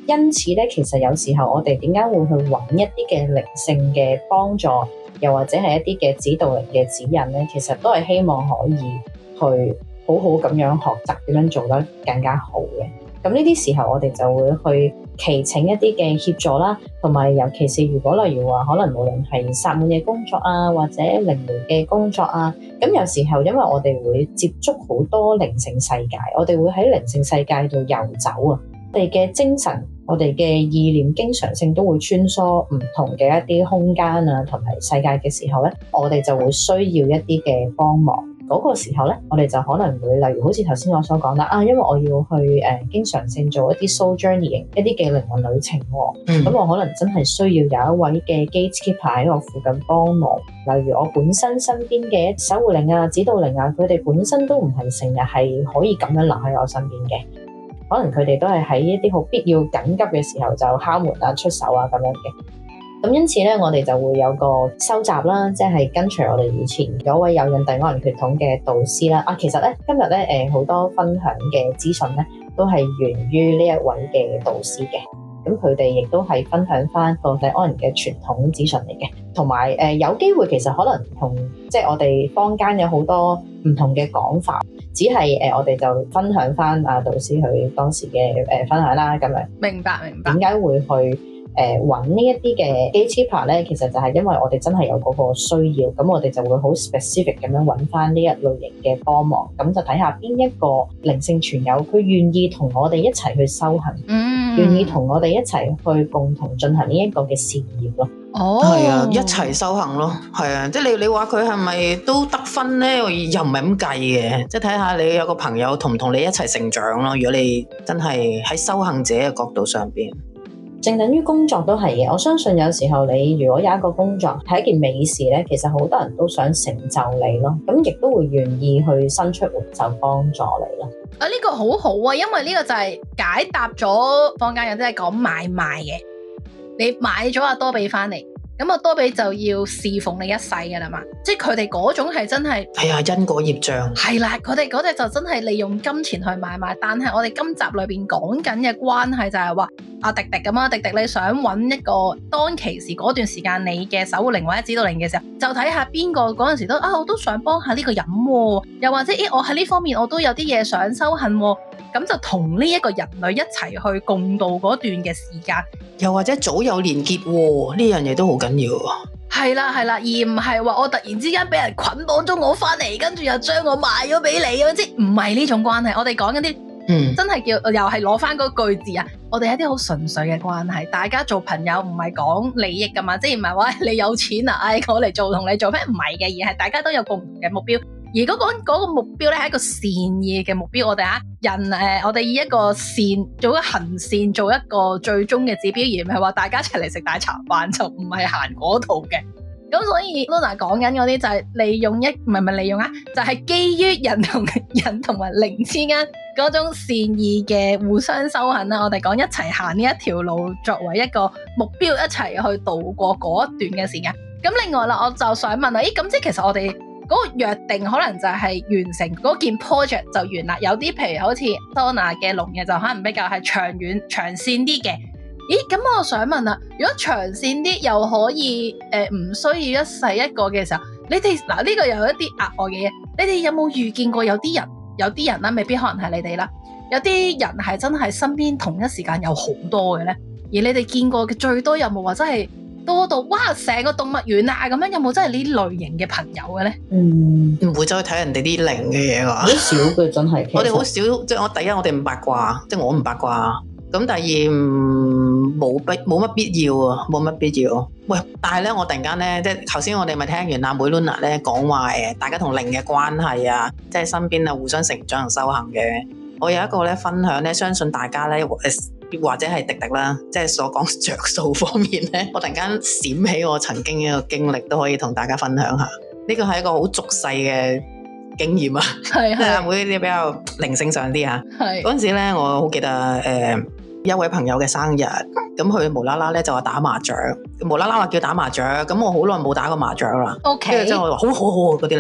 因此咧，其實有時候我哋點解會去揾一啲嘅靈性嘅幫助，又或者係一啲嘅指導靈嘅指引咧，其實都係希望可以去好好咁樣學習點樣做得更加好嘅。咁呢啲時候，我哋就會去祈請一啲嘅協助啦，同埋尤其是如果例如話，可能無論係薩滿嘅工作啊，或者靈媒嘅工作啊，咁有時候因為我哋會接觸好多靈性世界，我哋會喺靈性世界度遊走啊，我哋嘅精神、我哋嘅意念經常性都會穿梭唔同嘅一啲空間啊，同埋世界嘅時候咧，我哋就會需要一啲嘅幫忙。嗰個時候咧，我哋就可能會例如好似頭先我所講啦，啊，因為我要去誒、呃、經常性做一啲 soul journey 一啲嘅靈魂旅程喎，咁、嗯、我可能真係需要有一位嘅 gatekeeper 喺我附近幫忙。例如我本身身邊嘅守護靈啊、指導靈啊，佢哋本身都唔係成日係可以咁樣留喺我身邊嘅，可能佢哋都係喺一啲好必要緊急嘅時候就敲門啊、出手啊咁樣嘅。咁因此咧，我哋就會有個收集啦，即係跟隨我哋以前嗰位有印第安人血統嘅導師啦。啊，其實咧今日咧誒好多分享嘅資訊咧，都係源於呢一位嘅導師嘅。咁佢哋亦都係分享翻個印第安人嘅傳統資訊嚟嘅，同埋誒有機會其實可能同即係我哋坊間有好多唔同嘅講法，只係誒、呃、我哋就分享翻啊導師佢當時嘅誒、呃、分享啦，咁樣。 明白明白。 點解會去？誒揾呢一啲嘅 gatekeeper 咧，其實就係因為我哋真係有嗰個需要，咁我哋就會好 specific 咁樣揾翻呢一類型嘅幫忙，咁就睇下邊一個靈性傳友，佢願意同我哋一齊去修行，嗯，願意同我哋一齊去共同進行呢一個嘅事業咯。 哦， 係啊，一齊修行咯，係啊，即係你你話佢係咪都得分咧？又唔係咁計嘅，即係睇下你有個朋友同唔同你一齊成長咯。如果你真係喺修行者嘅角度上邊。 正等於工作都係嘅，我相信有時候你如果有一個工作係一件美事咧，其實好多人都想成就你咯，咁亦都會願意去伸出援手幫助你咯。 啊，呢個好好啊，因為呢個就係解答咗坊間有啲係講買賣嘅，你買咗阿多比翻嚟。咁阿多比就要侍奉你一世噶啦嘛，即係佢哋嗰種係真係， 係啊，因果業障係啦，佢哋嗰隻就真係利用金錢去買賣。但係我哋今集裏邊講緊嘅關係就係話阿迪迪咁啊，迪迪你想揾一個當其時嗰段時間你嘅守護靈或者指導靈嘅時候，就睇下邊個嗰陣時都啊，我都想幫下呢個人，啊，又或者咦，我喺呢方面我都有啲嘢想修行，啊。咁就同呢一個人類一齊去共度嗰段嘅時間， 又或者早有連結喎，呢樣嘢都好緊要。 係啦係啦，而唔係話我突然之間俾人捆綁咗我翻嚟，跟住又將我賣咗俾你，即係唔係呢種關係。我哋講緊啲，嗯，真係叫又係攞翻嗰句字啊！我哋係一啲好純粹嘅關係，大家做朋友唔係講利益噶嘛，即係唔係話你有錢啊，唉，我嚟做同你做咩？唔係嘅，而係大家都有共同嘅目標。而嗰、嗰個嗰個目標咧係一個善意嘅目標，我哋啊人誒、呃，我哋以一個善做一個行善做一個最終嘅指標，而唔係話大家一齊嚟食大茶飯，就唔係行嗰度嘅。咁所以 Luna 講緊嗰啲就係利用一唔係唔係利用啊，就係、是、基於人同人同埋靈之間嗰種善意嘅互相修行啦。我哋講一齊行呢一條路作為一個目標，一齊去度過嗰一段嘅時間。咁另外啦，我就想問啦，咦咁即係其實我哋嗰個約定可能就係完成嗰件 project 就完啦。有啲譬如好似 Donna 嘅龍嘅就可能比較係長遠長線啲嘅。咦，咁我想問啦，如果長線啲又可以誒唔、呃、需要一世一個嘅時候，你哋嗱呢個又有一啲額外嘅嘢，你哋有冇遇見過有啲人有啲人啦，未必可能係你哋啦，有啲人係真係身邊同一時間有好多嘅咧，而你哋見過嘅最多有冇話真係多到哇成個動物園啊咁樣，有冇真係呢類型嘅朋友嘅咧？ 嗯， 唔會走去睇人哋啲靈嘅嘢㗎， 好少嘅真係。 我哋好少，即係我第一我哋唔八卦，即係我唔八卦。咁第二冇必冇乜必要啊，冇乜必要。喂，但係咧，我突然間咧，即係頭先我哋咪聽完阿妹 Luna 咧講話誒，大家同靈嘅關係啊，即係身邊啊互相成長同修行嘅。我有一個咧分享咧，相信大家咧誒或者係迪迪啦，即係所講着數方面咧，我突然間閃起我曾經一個經歷，都可以同大家分享下。呢個係一個好俗世嘅經驗啊，係係阿妹啲比較靈性上啲啊。係嗰陣時咧，我好記得誒。呃一位朋友嘅生日，咁佢無啦啦咧就話打麻雀，無啦啦話叫打麻雀，咁我好耐冇打過麻雀啦。OK，跟住之後我話好好好嗰啲咧，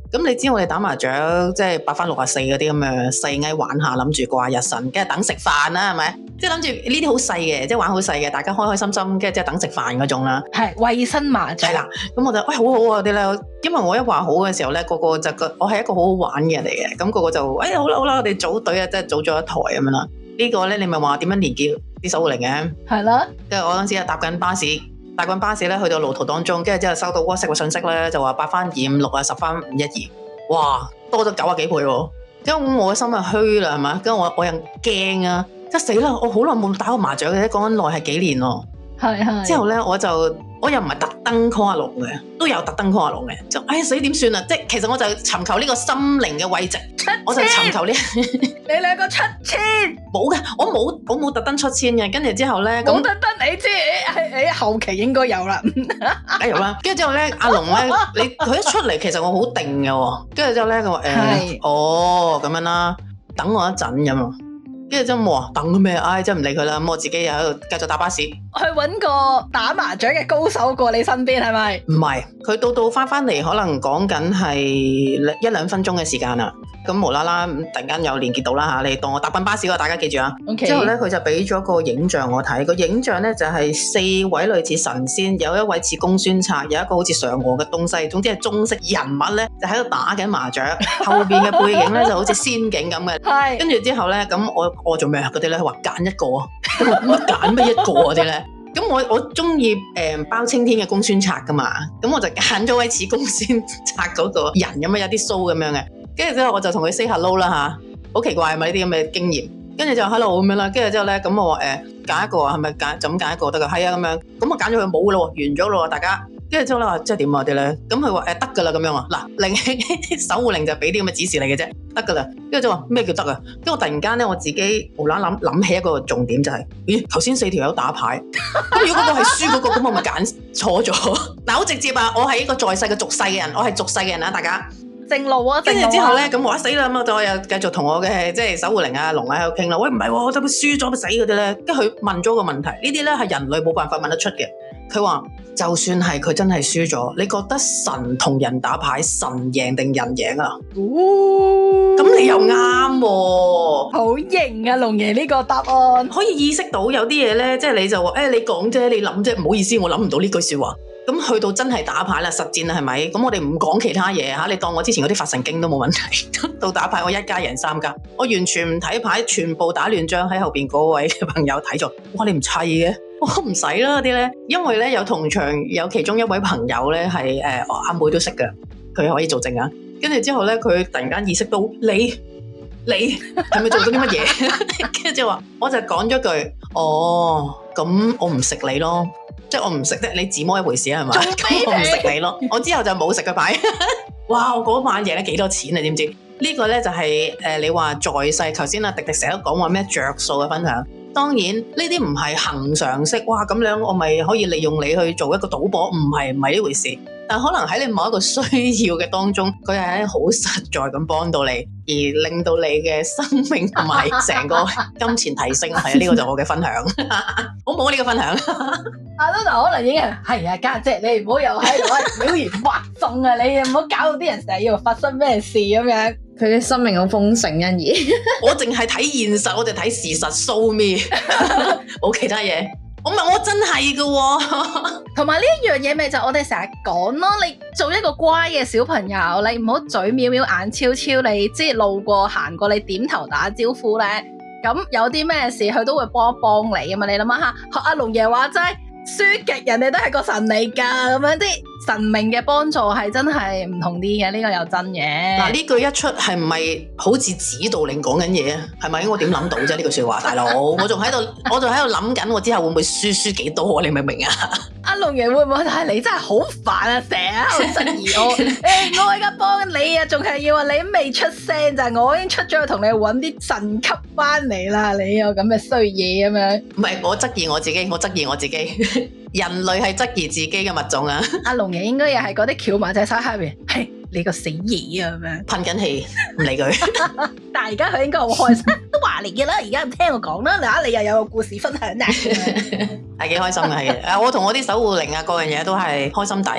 咁你知我哋打麻雀即係八翻六啊四嗰啲咁嘅細藝玩下，諗住過下日神，跟住等食飯啦，係咪？即係諗住呢啲好細嘅，即係玩好細嘅，大家開開心心，跟住即係等食飯嗰種啦。 係衛生麻雀。係啦，咁我就喂好好啊啲咧，因為我一話好嘅時候咧，個個就覺我係一個好好玩嘅人嚟嘅，咁個個就哎好啦好啦，我哋組隊啊，即係組咗一台咁樣啦。呢個咧你咪話點樣連結啲守護靈嘅？係啦。跟住我嗰陣時啊搭緊巴士。搭緊巴士咧，去到路途當中，跟住之後收到 WhatsApp 嘅信息咧，就話八翻二五六啊，十翻五一二，哇，多咗九啊幾倍喎！跟住我嘅心啊虛啦，係嘛？跟住我我又驚啊，即係死啦！我好耐冇打過麻雀嘅，講緊耐係幾年咯。係係。之後咧，我就我又唔係特登 call 阿龍嘅，都有特登 call 阿龍嘅，就哎死點算啊！即係其實我就尋求呢個心靈嘅慰藉，我就尋求呢。 你兩個出千冇嘅，我冇我冇特登出千嘅，跟住之後咧， 冇特登，你知喺喺後期應該有啦， 梗有啦。跟住之後咧，阿龍咧，你佢一出嚟，其實我好定嘅，跟住之後咧，佢話誒，哦咁樣啦，等我一陣咁啊。跟住之後我話等咩？唉，真係唔理佢啦。咁我自己又喺度繼續搭巴士，去搵個打麻雀嘅高手過你身邊，係咪？ 唔係，佢到到翻翻嚟，可能講緊係一兩分鐘嘅時間啦。咁無啦啦，突然間有連結到啦嚇，你當我搭緊巴士嗰個，大家記住啊。Okay. 之後咧，佢就俾咗個影像我睇，個影像咧就係四位類似神仙，有一位似公孫策，有一個好似嫦娥嘅東西，總之係中式人物咧，就喺度打緊麻雀，後邊嘅背景咧就好似仙境咁嘅。係。跟住之後咧，咁我我做咩啊？嗰啲咧話揀一個，乜揀乜一個嗰啲咧？咁我我中意誒包青天嘅公孫策噶嘛，咁我就揀咗位似公孫策嗰個人咁樣，有啲鬚咁樣嘅。跟住之後我就同佢 say hello 啦吓，好奇怪係咪呢啲咁嘅經驗？跟住就 hello 咁樣啦，跟住之後咧，咁我話誒揀一個係咪揀就咁揀一個得噶？係啊咁樣，咁我揀咗佢冇噶咯，完咗咯，大家。跟住之後咧話即係點啊啲咧？咁佢話誒得噶啦咁樣啊，嗱靈守護靈就俾啲咁嘅指示你嘅啫，得噶啦。跟住就話咩叫得啊？跟住我突然間咧，我自己無啦啦諗諗起一個重點就係、是，咦頭先四條友打牌，咁如果嗰個係輸嗰個，咁我咪揀錯咗？嗱好直接啊！我係一個在世嘅俗世嘅人，我係俗世嘅人啊，大家。 正路啊！ 跟住之後咧，咁我死啦咁，我就又繼續同我嘅即係守護靈啊龍啊喺度傾啦。喂，唔係喎，我就輸咗咪死嗰啲咧。跟住佢問咗個問題，呢啲咧係人類冇辦法問得出嘅。佢話就算係佢真係輸咗，你覺得神同人打牌，神贏定人贏啊？哦，咁你又啱喎， 好型啊！龍爺呢個答案可以意識到有啲嘢咧，即係你就話誒、哎，你講啫，你諗啫，唔好意思，我諗唔到呢句說話。咁去到真係打牌啦，實戰啦，係咪？咁我哋唔講其他嘢吓，你當我之前嗰啲發神經都冇問題。到打牌我一家贏三家，我完全唔睇牌，全部打亂張喺後邊嗰位朋友睇咗。哇，你唔砌嘅？我唔使啦啲咧，因為咧有同場有其中一位朋友咧係誒阿妹都識嘅，佢可以做證啊。跟住之後咧，佢突然間意識到你你係咪做咗啲乜嘢？跟住就話，我就講咗句哦，咁我唔食你咯。即係我唔食啫，你自摸一回事係嘛？我唔食你咯，我之後就冇食佢牌。哇！我嗰晚贏咗幾多錢啊？知唔知？呢個咧就係誒，你話在世，頭先阿迪迪成日都講話咩着數嘅分享。當然呢啲唔係恒常式，哇咁樣我咪可以利用你去做一個賭博，唔係唔係呢回事。但可能喺你某一個需要嘅當中，佢係好實在咁幫到你，而令到你嘅生命同埋成個金錢提升。係啊，呢個就係我嘅分享。好唔好呢個分享？ 阿 Luna 可能已經係啊，家姐你唔好又喺度妖言惑眾啊！你唔好搞到啲人成日以為發生咩事咁樣。 佢嘅生命好豐盛，欣宜。 我淨係睇現實，我就睇事實 show me，冇其他嘢。我唔係我真係噶、哦， 同埋呢一樣嘢咪就我哋成日講咯。你做一個乖嘅小朋友，你唔好嘴藐藐眼超超，你即係路過行過，你點頭打招呼咧。咁有啲咩事，佢都會幫一幫你啊嘛。你諗下，學阿龍爺話齋，輸極人哋都係個神嚟噶，咁樣啲神明嘅幫助係真係唔同啲嘅，呢、這個又真嘅。 嗱呢句一出係唔係好似指導靈講緊嘢啊？係咪？我點諗到啫？呢句說話，大佬，我仲喺度，我仲喺度諗緊，我之後會唔會輸輸幾多？你明唔明啊？ 阿龍爺會唔會？但係你真係好煩啊！成日喺度質疑我，誒、欸，我而家幫你啊，仲係要話你未出聲就係我已經出咗去同你搵啲神級翻嚟啦！你有咁嘅衰嘢咁樣？唔係我質疑我自己，我質疑我自己。人類係質疑自己嘅物種啊！阿龍爺應該又係嗰啲翹埋隻手喺邊，係你個死嘢啊咁樣，噴緊氣唔理佢。但係而家佢應該好開心，都話嚟嘅啦。而家唔聽我講啦，嗱你又有個故事分享啊，係幾開心嘅係。誒，我同我啲守護靈啊，各樣嘢都係開心底嘅。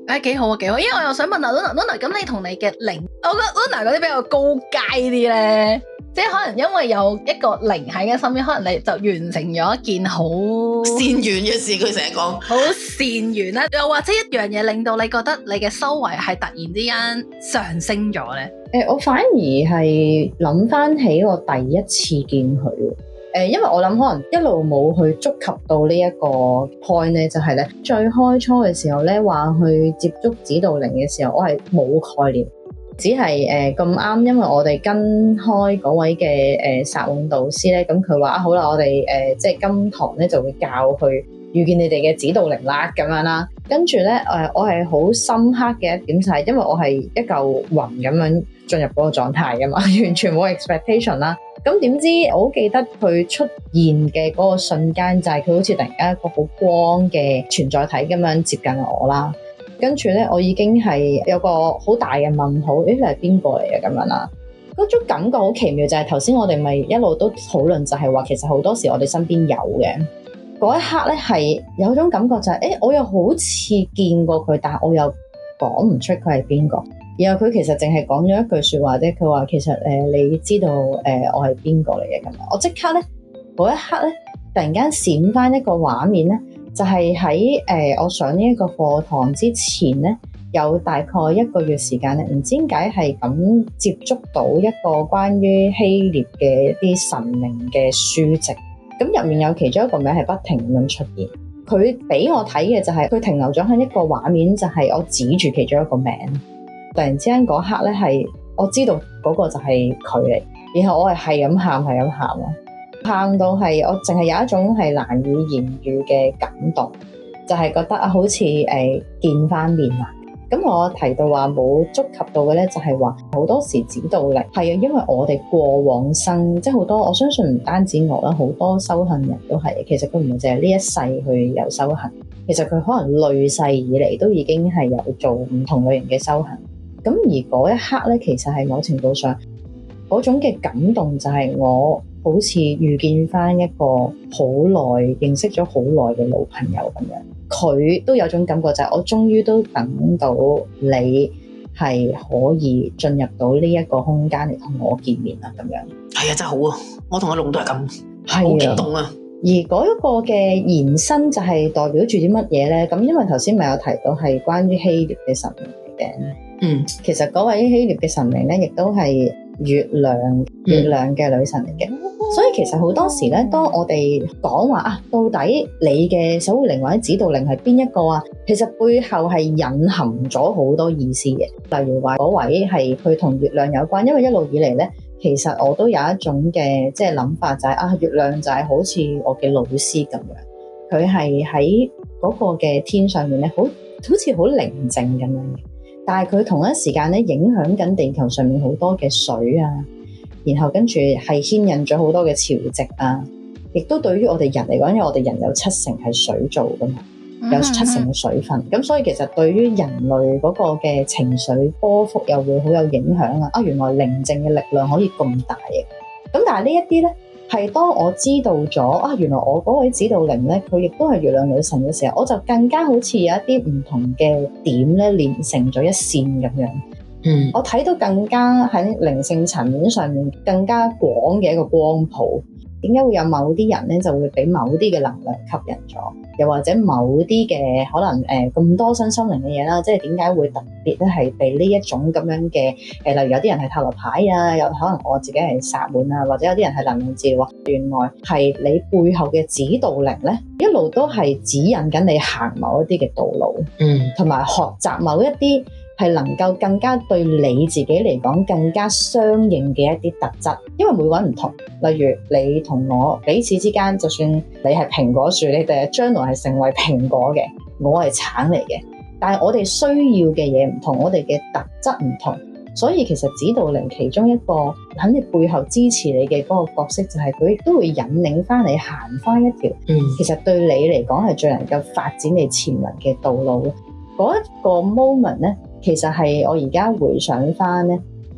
誒幾好啊幾好，因為我又想問下 Luna，Luna 咁你同你嘅靈，我覺得 Luna 嗰啲比較高階啲咧，即係可能因為有一個靈喺嘅身邊，可能你就完成咗一件好善緣嘅事，佢成日講好善緣啦，又或者一樣嘢令到你覺得你嘅修為係突然之間上升咗咧？ 誒、呃，我反而係諗翻起我第一次見佢。誒、呃，因為我諗可能一路冇去觸及到呢一個 point 咧，就係咧最開初嘅時候咧，話去接觸指導靈嘅時候，我係冇概念，只係誒咁啱，因為我哋跟開嗰位嘅誒薩滿導師咧，咁佢話啊好啦，我哋誒、呃、即係今堂咧就會教去遇見你哋嘅指導靈啦，咁樣啦。跟住咧誒，我係好深刻嘅一點就係，因為我係一嚿雲咁樣進入嗰個狀態噶嘛，完全冇 expectation 啦。咁點知我好記得佢出現嘅嗰個瞬間，就係佢好似突然間一個好光嘅存在體咁樣接近我啦。跟住咧，我已經係有個好大嘅問號，誒，你係邊個嚟嘅咁樣啦？嗰種感覺好奇妙，就係頭先我哋咪一路都討論，就係話其實好多時我哋身邊有嘅嗰一刻咧，係有種感覺就係、是，誒，我又好似見過佢，但係我又講唔出佢係邊個。然後佢其實淨係講咗一句説話啫，佢話其實誒、呃、你知道誒、呃、我係邊個嚟嘅咁樣，我即刻咧嗰一刻咧突然間閃翻一個畫面咧，就係喺誒我上呢一個課堂之前咧，有大概一個月時間咧，唔知點解係咁接觸到一個關於希臘嘅一啲神明嘅書籍，咁入面有其中一個名係不停咁樣出現，佢俾我睇嘅就係、是、佢停留咗喺一個畫面，就係我指住其中一個名。突然之間嗰刻咧，係我知道嗰個就係佢嚟，然後我係係咁喊，係咁喊咯，喊到係我淨係有一種係難以言喻嘅感動，就係、是、覺得啊，好似誒、呃、見翻面啦。咁我提到話冇觸及到嘅咧，就係話好多時指導靈係啊，因為我哋過往生，即係好多我相信唔單止我啦，好多修行人都係，其實佢唔係淨係呢一世去有修行，其實佢可能累世以嚟都已經係有做唔同類型嘅修行。咁而嗰一刻咧，其實係某程度上嗰種嘅感動，就係我好似遇見翻一個好耐認識咗好耐嘅老朋友咁樣。佢都有種感覺，就係我終於都等到你係可以進入到呢一個空間嚟同我見面啦，咁樣。 係啊，真係好啊！我同阿龍都係咁， 係好激動啊！ 而嗰一個嘅延伸就係代表住啲乜嘢咧？咁因為頭先咪有提到係關於希臘嘅神明嚟嘅。嗯，其實嗰位希臘嘅神明咧，亦都係月亮月亮嘅女神嚟嘅。嗯、所以其實好多時咧，當我哋講話啊，到底你嘅守護靈或者指導靈係邊一個啊？其實背後係隱含咗好多意思嘅。例如話嗰位係佢同月亮有關，因為一路以嚟咧，其實我都有一種嘅即係諗法，就係、是、啊，月亮就係好似我嘅老師咁樣，佢係喺嗰個嘅天上面咧，好好似好寧靜咁樣嘅。但係佢同一時間咧，影響緊地球上面好多嘅水啊，然後跟住係牽引咗好多嘅潮汐啊，亦都對於我哋人嚟講，因為我哋人有七成係水做噶嘛，有七成嘅水分，咁所以其實對於人類嗰個嘅情緒波幅又會好有影響啊！啊，原來寧靜嘅力量可以咁大嘅，咁但係呢一啲咧，係當我知道咗啊，原來我嗰位指導靈咧，佢亦都係月亮女神嘅時候，我就更加好似有一啲唔同嘅點咧，連成咗一線咁樣。嗯，我睇到更加喺靈性層面上面更加廣嘅一個光譜。點解會有某啲人咧就會俾某啲嘅能量吸引咗，又或者某啲嘅可能誒咁、呃、多身心靈嘅嘢啦，即係點解會特別咧係被呢一種咁樣嘅誒、呃，例如有啲人係塔羅牌啊，有可能我自己係薩滿啊，或者有啲人係能量治療，原來係你背後嘅指導靈咧，一路都係指引緊你行某一啲嘅道路，嗯，同埋學習某一啲係能夠更加對你自己嚟講更加相應嘅一啲特質，因為每個人唔同。例如你同我彼此之間，就算你係蘋果樹，你哋將來係成為蘋果嘅，我係橙嚟嘅，但係我哋需要嘅嘢唔同，我哋嘅特質唔同，所以其實指導靈其中一個喺你背後支持你嘅嗰個角色，就係佢亦都會引領翻你行翻一條，嗯，其實對你嚟講係最能夠發展你潛能嘅道路咯。嗰一個 moment 咧，其實係我而家回想翻咧，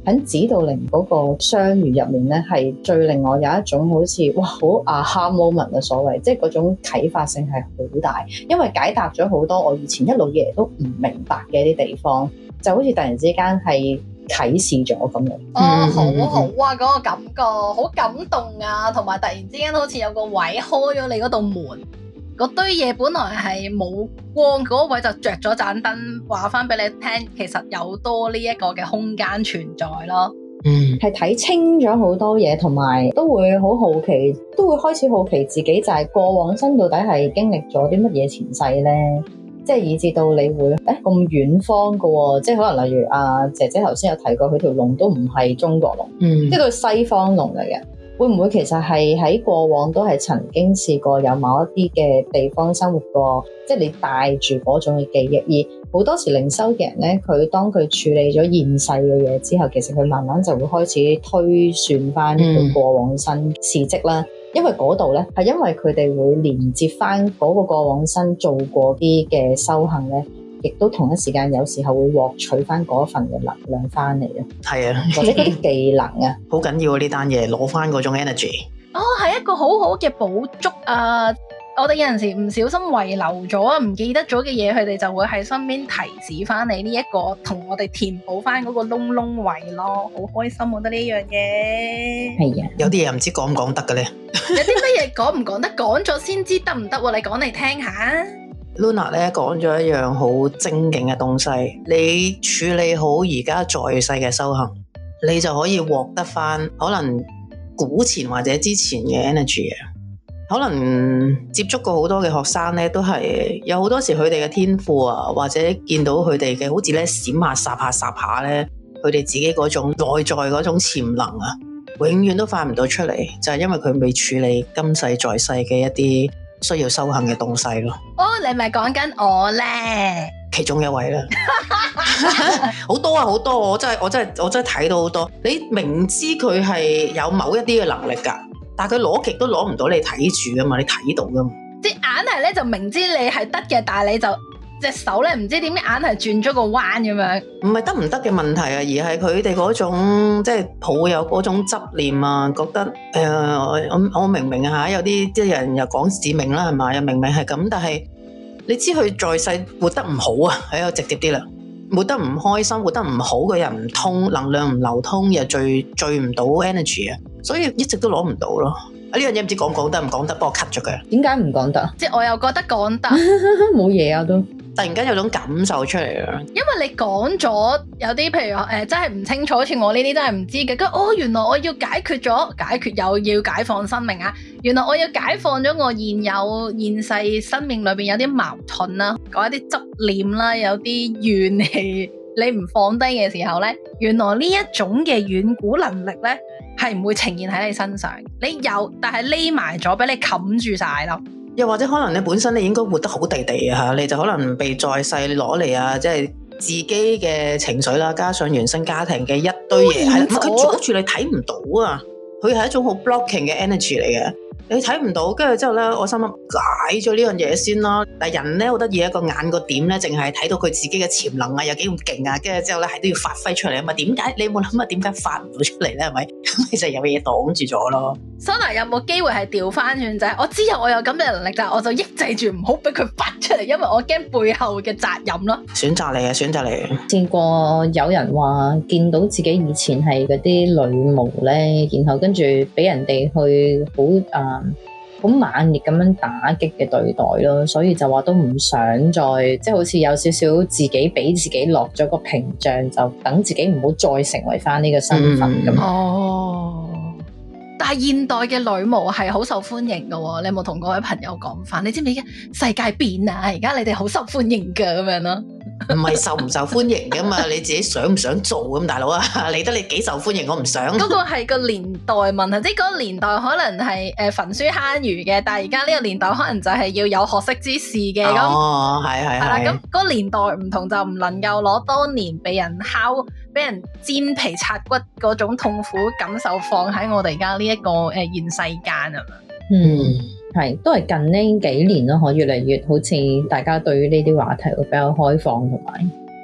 喺指導靈嗰個相遇入面咧，係最令我有一種好似哇好 aha moment 嘅所謂，即係嗰種啟發性係好大，因為解答咗好多我以前一路以嚟都唔明白嘅一啲地方，就好似突然之間係啟示咗咁樣。 哦，好好啊，嗰、那個感覺好感動啊，同埋突然之間好似有個位開咗你嗰道門。嗰堆嘢本來係冇光，嗰位就着咗盞燈，話翻俾你聽，其實有多呢一個嘅空間存在咯。 嗯，係睇清咗好多嘢，同埋都會好好奇，都會開始好奇自己就係過往生到底係經歷咗啲乜嘢前世呢？即係以至到你會誒咁遠方噶喎，即係可能例如阿姐姐頭先有提過，佢條龍都唔係中國龍，嗯，即係佢西方龍嚟嘅。會唔會其實係喺過往都係曾經試過有某一啲嘅地方生活過，即係你帶住嗰種嘅記憶，而好多時靈修嘅人咧，佢當佢處理咗現世嘅嘢之後，其實佢慢慢就會開始推算翻佢過往生事蹟啦。嗯、因為嗰度咧係因為佢哋會連接翻嗰個過往生做過啲嘅修行咧。亦都同一時間有時候會獲取翻嗰份嘅能量翻嚟啊， 係啊， 或者嗰啲技能啊， 好緊要啊！呢單嘢攞翻嗰種 energy。 哦，係一個好好嘅補足啊！我哋有陣時唔小心遺留咗、唔記得咗嘅嘢，佢哋就會喺身邊提示翻你呢一個，同我哋填補翻嗰個窿窿位咯，好開心！我覺得呢樣嘢係啊， 有啲嘢唔知講唔講得嘅咧， 有啲乜嘢講唔講得，講咗先知得唔得？你講嚟聽下。 Luna 咧講咗一樣好精警嘅東西，你處理好而家在世嘅修行，你就可以獲得翻可能古前或者之前嘅 energy 啊。可能接觸過好多嘅學生咧，都係有好多時佢哋嘅天賦啊，或者見到佢哋嘅好似咧閃下霎下霎下咧，佢哋自己嗰種內在嗰種潛能啊，永遠都發唔到出嚟，就係因為佢未處理今世在世嘅一啲需要修行嘅東西咯。 哦，你咪講緊我咧， 其中一位啦，好多啊，好多，我真係我真係我真係睇到好多。你明知佢係有某一啲嘅能力噶，但係佢攞極都攞唔到你睇住噶嘛，你睇到噶嘛。即係硬係咧就明知你係得嘅，但係你就隻手咧唔知點解硬係轉咗個彎咁樣。唔係得唔得嘅問題啊，而係佢哋嗰種即係抱有嗰種執念啊，覺得誒、呃、我我明明啊，有啲即係人又講使命啦，係嘛，又明明係咁，但係你知佢在世活得唔好啊，喺度直接啲啦，活得唔開心，活得唔好嘅人唔通，能量唔流通，又聚聚唔到 energy 啊，所以一直都攞唔到咯。啊，呢樣嘢唔知講講得唔講得，幫我 cut 咗佢。點解唔講得？即係我又覺得講得冇嘢啊都。突然間有種感受出嚟啊！因為你講咗有啲，譬如誒、呃，真係唔清楚，好似我呢啲真係唔知嘅。咁哦，原來我要解決咗，解決又要解放生命啊！原來我要解放咗我現有現世生命裏邊有啲矛盾啦，講一啲執念啦，有啲怨氣，你唔放低嘅時候咧，原來呢一種嘅遠古能力咧，係唔會呈現喺你身上。你有，但係匿埋咗，俾你冚住晒咯。又或者可能你本身你應該活得好地地啊，你就可能被在世攞嚟啊，即係自己嘅情緒啦，加上原生家庭嘅一堆嘢，係佢阻住你睇唔到啊，佢係一種好 blocking 嘅 energy 嚟嘅。你睇唔到，跟住之後咧，我心諗解咗呢樣嘢先啦。但係人咧好得意，一個眼個點咧，淨係睇到佢自己嘅潛能啊，有幾咁勁啊，跟住之後咧係都要發揮出嚟啊嘛。點解你有冇諗啊？點解發唔到出嚟咧？係咪？咁其實有嘢擋住咗咯。Sona 有冇機會係調翻轉就係我知有我有咁嘅能力，但係我就抑制住唔好俾佢發出嚟，因為我驚背後嘅責任咯。選擇嚟嘅，選擇嚟嘅。見過有人話見到自己以前係嗰啲女巫咧，然後跟住俾人哋去好啊。呃好猛烈咁樣打擊嘅對待咯，所以就話都唔想再即係好似有少少自己俾自己落咗個屏障，就等自己唔好再成為翻呢個身份咁。嗯、哦，但係現代嘅女巫係好受歡迎噶，你有冇同各位朋友講翻？你知唔知世界變啊？而家你哋好受歡迎噶咁樣咯。唔係受唔受歡迎噶嘛，你自己想唔想做咁，大佬啊，理得你幾受歡迎，我唔想。嗰個係個年代問題，即係嗰個年代可能係誒焚書坑儒嘅，但係而家呢個年代可能就係要有學識之士嘅咁。哦，係係係啦，咁嗰個年代唔同，就唔能夠攞當年俾人敲、俾人煎皮拆骨嗰種痛苦感受放喺我哋而家呢一個誒現世間啊嘛。嗯。係，都係近呢幾年咯，可越嚟越好似大家對於呢啲話題會比較開放，同埋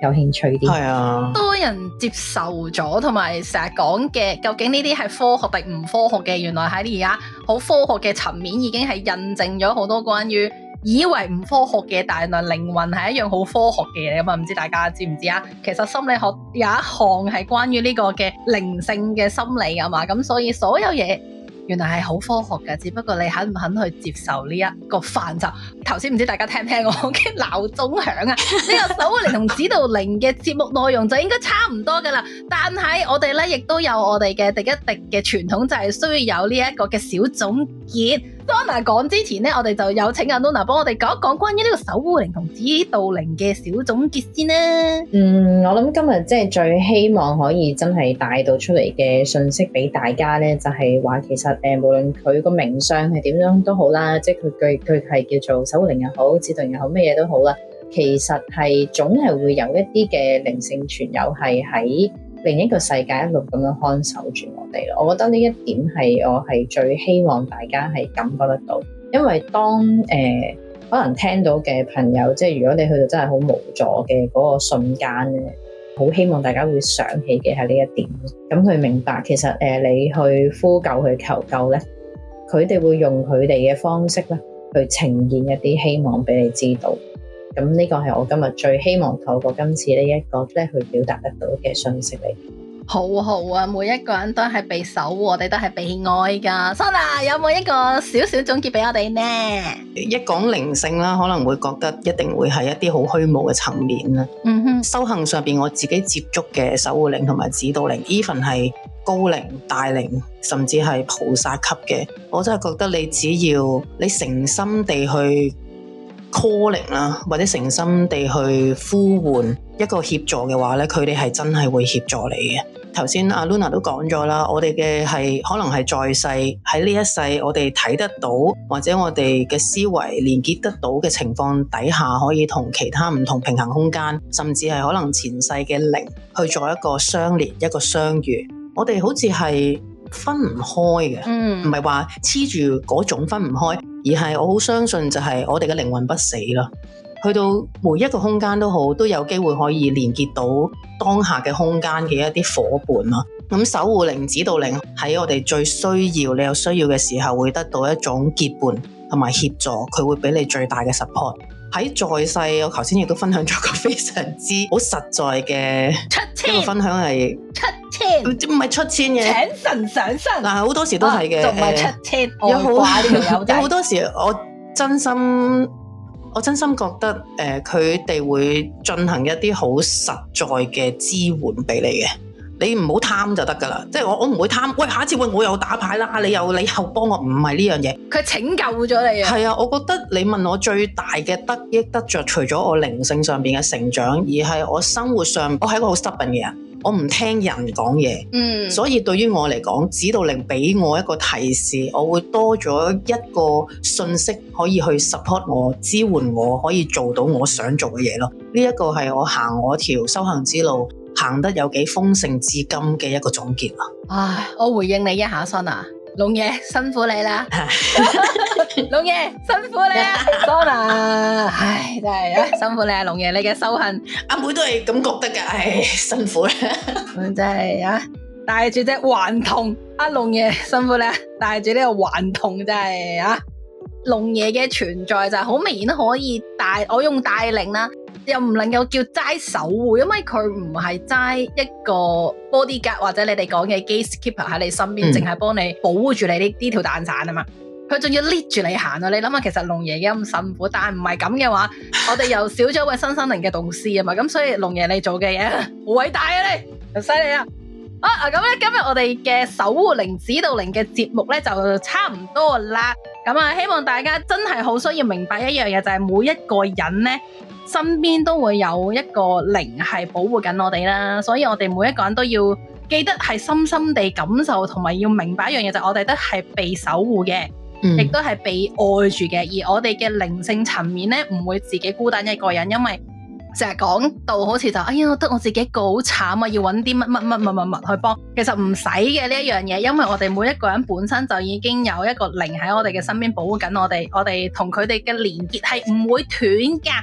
有興趣啲。 係啊， 多人接受咗，同埋成日講嘅，究竟呢啲係科學定唔科學嘅？原來喺而家好科學嘅層面已經係印證咗好多關於以為唔科學嘅，但係靈魂係一樣好科學嘅嘢咁啊！唔知大家知唔知啊？其實心理學有一項係關於呢個嘅靈性嘅心理啊嘛，咁所以所有嘢原來係好科學嘅，只不過你肯唔肯去接受呢一個範疇。頭先唔知大家聽唔聽我嘅鬧鐘響啊？呢個守護靈同指導靈嘅節目內容就應該差唔多噶啦，但係我哋咧亦都有我哋嘅滴一滴嘅傳統，就係需要有呢一個嘅小總結。Sona 講之前咧，我哋就有請阿 Luna 幫我哋講一講關於呢個守護靈同指導靈嘅小總結先啦。 嗯，我諗今日即係最希望可以真係帶到出嚟嘅信息俾大家咧，就係話其實誒、呃，無論佢個名相係點樣都好啦，即係佢佢佢係叫做守護靈又好，指導靈又好，咩嘢都好啦，其實係總係會有一啲嘅靈性存有係喺另一個世界一路咁樣看守住我哋咯。我覺得呢一點係我係最希望大家係感覺得到，因為當誒、呃、可能聽到嘅朋友，即係如果你去到真係好無助嘅嗰個瞬間咧，好希望大家會想起嘅係呢一點，咁佢明白其實誒、呃、你去呼救去求救咧，佢哋會用佢哋嘅方式咧去呈現一啲希望俾你知道。咁呢個係我今日最希望透過今次呢一個咧去表達得到嘅信息嚟。 好好啊，每一個人都係被守護，我哋都係被愛噶。Sona 有冇一個少少總結俾我哋呢？ 一講靈性啦，可能會覺得一定會係一啲好虛無嘅層面啦。 嗯哼， 修行上邊我自己接觸嘅守護靈同埋指導靈 even 係高靈、大靈，甚至係菩薩級嘅，我真係覺得你只要你誠心地去 calling 啦，或者誠心地去呼喚一個協助嘅話咧，佢哋係真係會協助你嘅。頭先阿 Luna 都講咗啦，我哋嘅係可能係在世喺呢一世，我哋睇得到或者我哋嘅思維連結得到嘅情況底下，可以同其他唔同平衡空間，甚至係可能前世嘅靈去做一個相連、一個相遇。我哋好似係分唔開嘅，唔係話黐住嗰種分唔開，而係我好相信就係我哋嘅靈魂不死啦。去到每一個空間都好，都有機會可以連結到當下嘅空間嘅一啲伙伴咯。咁守護靈、指導靈喺我哋最需要、你有需要嘅時候，會得到一種結伴同埋協助，佢會俾你最大嘅 support。喺在世，我頭先亦都分享咗個非常之好實在嘅一個分享係出千， 唔係出千嘅， 請神上身。 但係好多時都係嘅， 仲唔係出千？ 有好有有好多時，我真心我真心覺得誒，佢哋會進行一啲好實在嘅支援俾你嘅。你唔好貪就得噶啦，即係我我唔會貪。喂，下一次喂我又打牌啦，你又你又幫我，唔係呢樣嘢。佢拯救咗你啊！ 係啊，我覺得你問我最大嘅得益得着，除咗我靈性上邊嘅成長，而係我生活上，我係一個好 stubborn 嘅人，我唔聽人講嘢。嗯，所以對於我嚟講，指導靈俾我一個提示，我會多咗一個信息可以去 support 我、支援我，可以做到我想做嘅嘢咯。呢一個係我行我條修行之路行得有幾豐盛至今嘅一個總結啦。 唉，我回應你一下，Sona，龍爺辛苦你啦，龍爺辛苦你啊，Sona，唉真係啊，辛苦你啊，龍爺你嘅修行， 阿妹都係咁覺得噶，唉辛苦啦， 真係啊，帶住隻頑童，阿龍爺辛苦你啊，帶住呢個頑童真係啊，龍爺嘅存在就係好明顯可以帶，我用帶領啦。又唔能夠叫齋守護，因為佢唔係齋一個 bodyguard 或者你哋講嘅 gatekeeper 喺你身邊，淨係幫你保護住你呢呢條蛋散啊嘛。佢仲要 lead 住你行啊！你諗下，其實龍爺嘅咁辛苦，但係唔係咁嘅話，我哋又少咗位新生靈嘅導師啊嘛。咁所以龍爺你做嘅嘢好偉大啊！你又犀利啊！啊咁咧，今日我哋嘅守護靈指導靈嘅節目咧就差唔多啦。咁啊，希望大家真係好需要明白一樣嘢，就係每一個人咧，身邊都會有一個靈係保護緊我哋啦，所以我哋每一個人都要記得係深深地感受，同埋要明白一樣嘢，就係我哋都係被守護嘅，亦都係被愛住嘅。而我哋嘅靈性層面咧，唔會自己孤單一個人，因為成日講到好似就哎呀，得我自己一個好慘啊，要揾啲乜乜乜乜乜乜去幫。其實唔使嘅呢一樣嘢，因為我哋每一個人本身就已經有一個靈喺我哋嘅身邊保護緊我哋，我哋同佢哋嘅連結係唔會斷噶。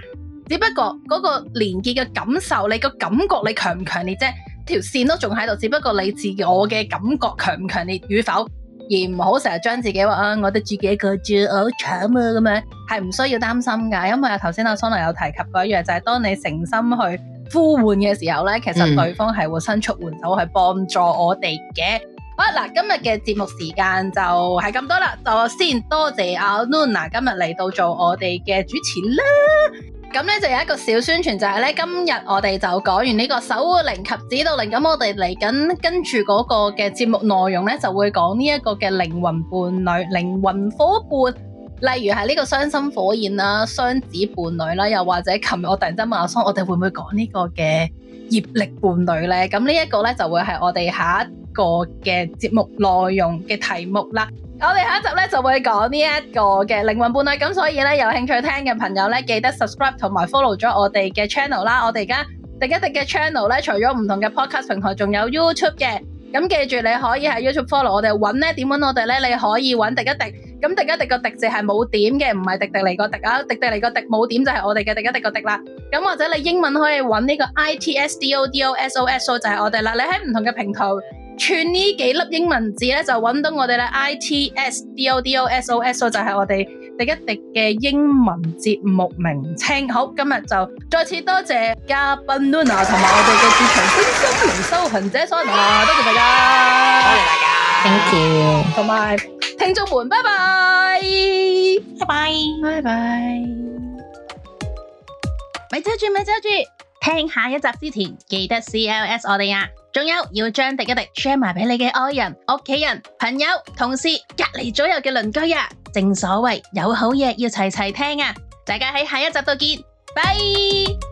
只不過嗰個連結嘅感受，你個感覺你強唔強烈啫？條線都仲喺度，只不過你自我嘅感覺強唔強烈與否，而唔好成日將自己話啊，我哋自己一個住好慘啊咁樣，係唔需要擔心噶。因為頭先阿 Sona 有提及過一樣，就係、是、當你誠心去呼喚嘅時候咧，其實對方係會伸出援手去幫助我哋嘅。好啦，今日嘅節目時間就係咁多啦，就先多謝阿 Luna 今日嚟到做我哋嘅主持啦。咁咧就有一個小宣傳，就係咧今日我哋就講完呢個守護靈及指導靈，咁我哋嚟緊跟住嗰個嘅節目內容咧，就會講呢一個嘅靈魂伴侶、靈魂伙伴，例如係呢個雙心火焰啦、雙子伴侶啦，又或者琴日我突然間問阿桑，我哋會唔會講呢個嘅業力伴侶咧？咁呢一個咧就會係我哋下一個嘅節目內容嘅題目啦。我哋下一集咧就會講呢一個嘅靈魂伴侶，咁所以咧有興趣聽嘅朋友咧，記得 subscribe 同埋 follow 咗我哋嘅 channel 啦。我哋而家廸一廸嘅 channel 咧，除咗唔同嘅 podcast 平台，仲有 YouTube 嘅。咁記住你可以喺 YouTube follow 我哋，揾咧點揾我哋咧？你可以揾廸一廸。咁廸一廸個廸字係冇點嘅，唔係迪迪尼個迪啊，迪迪尼個迪冇點就係我哋嘅廸一廸個廸啦。咁或者你英文可以揾呢個 I T S D O D O S O S O 就係我哋啦。你喺唔同嘅平台串呢幾粒英文字咧，就揾到我哋啦。I T S D O D O S O S O 就係我哋廸一廸嘅英文節目名稱。好，今日就再次多謝嘉賓 Luna 同埋我哋嘅駐場心靈修行者 Sona，多謝大家， 多謝大家 Thank you， 同埋聽眾們，拜拜， 拜拜， 拜拜。咪遮住，咪遮住，聽下一集之前記得 C L S 我哋啊！仲有要將廸一廸 share 埋俾你嘅愛人、屋企人、朋友、同事、隔籬左右嘅鄰居啊！正所謂有好嘢要齊齊聽啊！大家喺下一集度見，拜。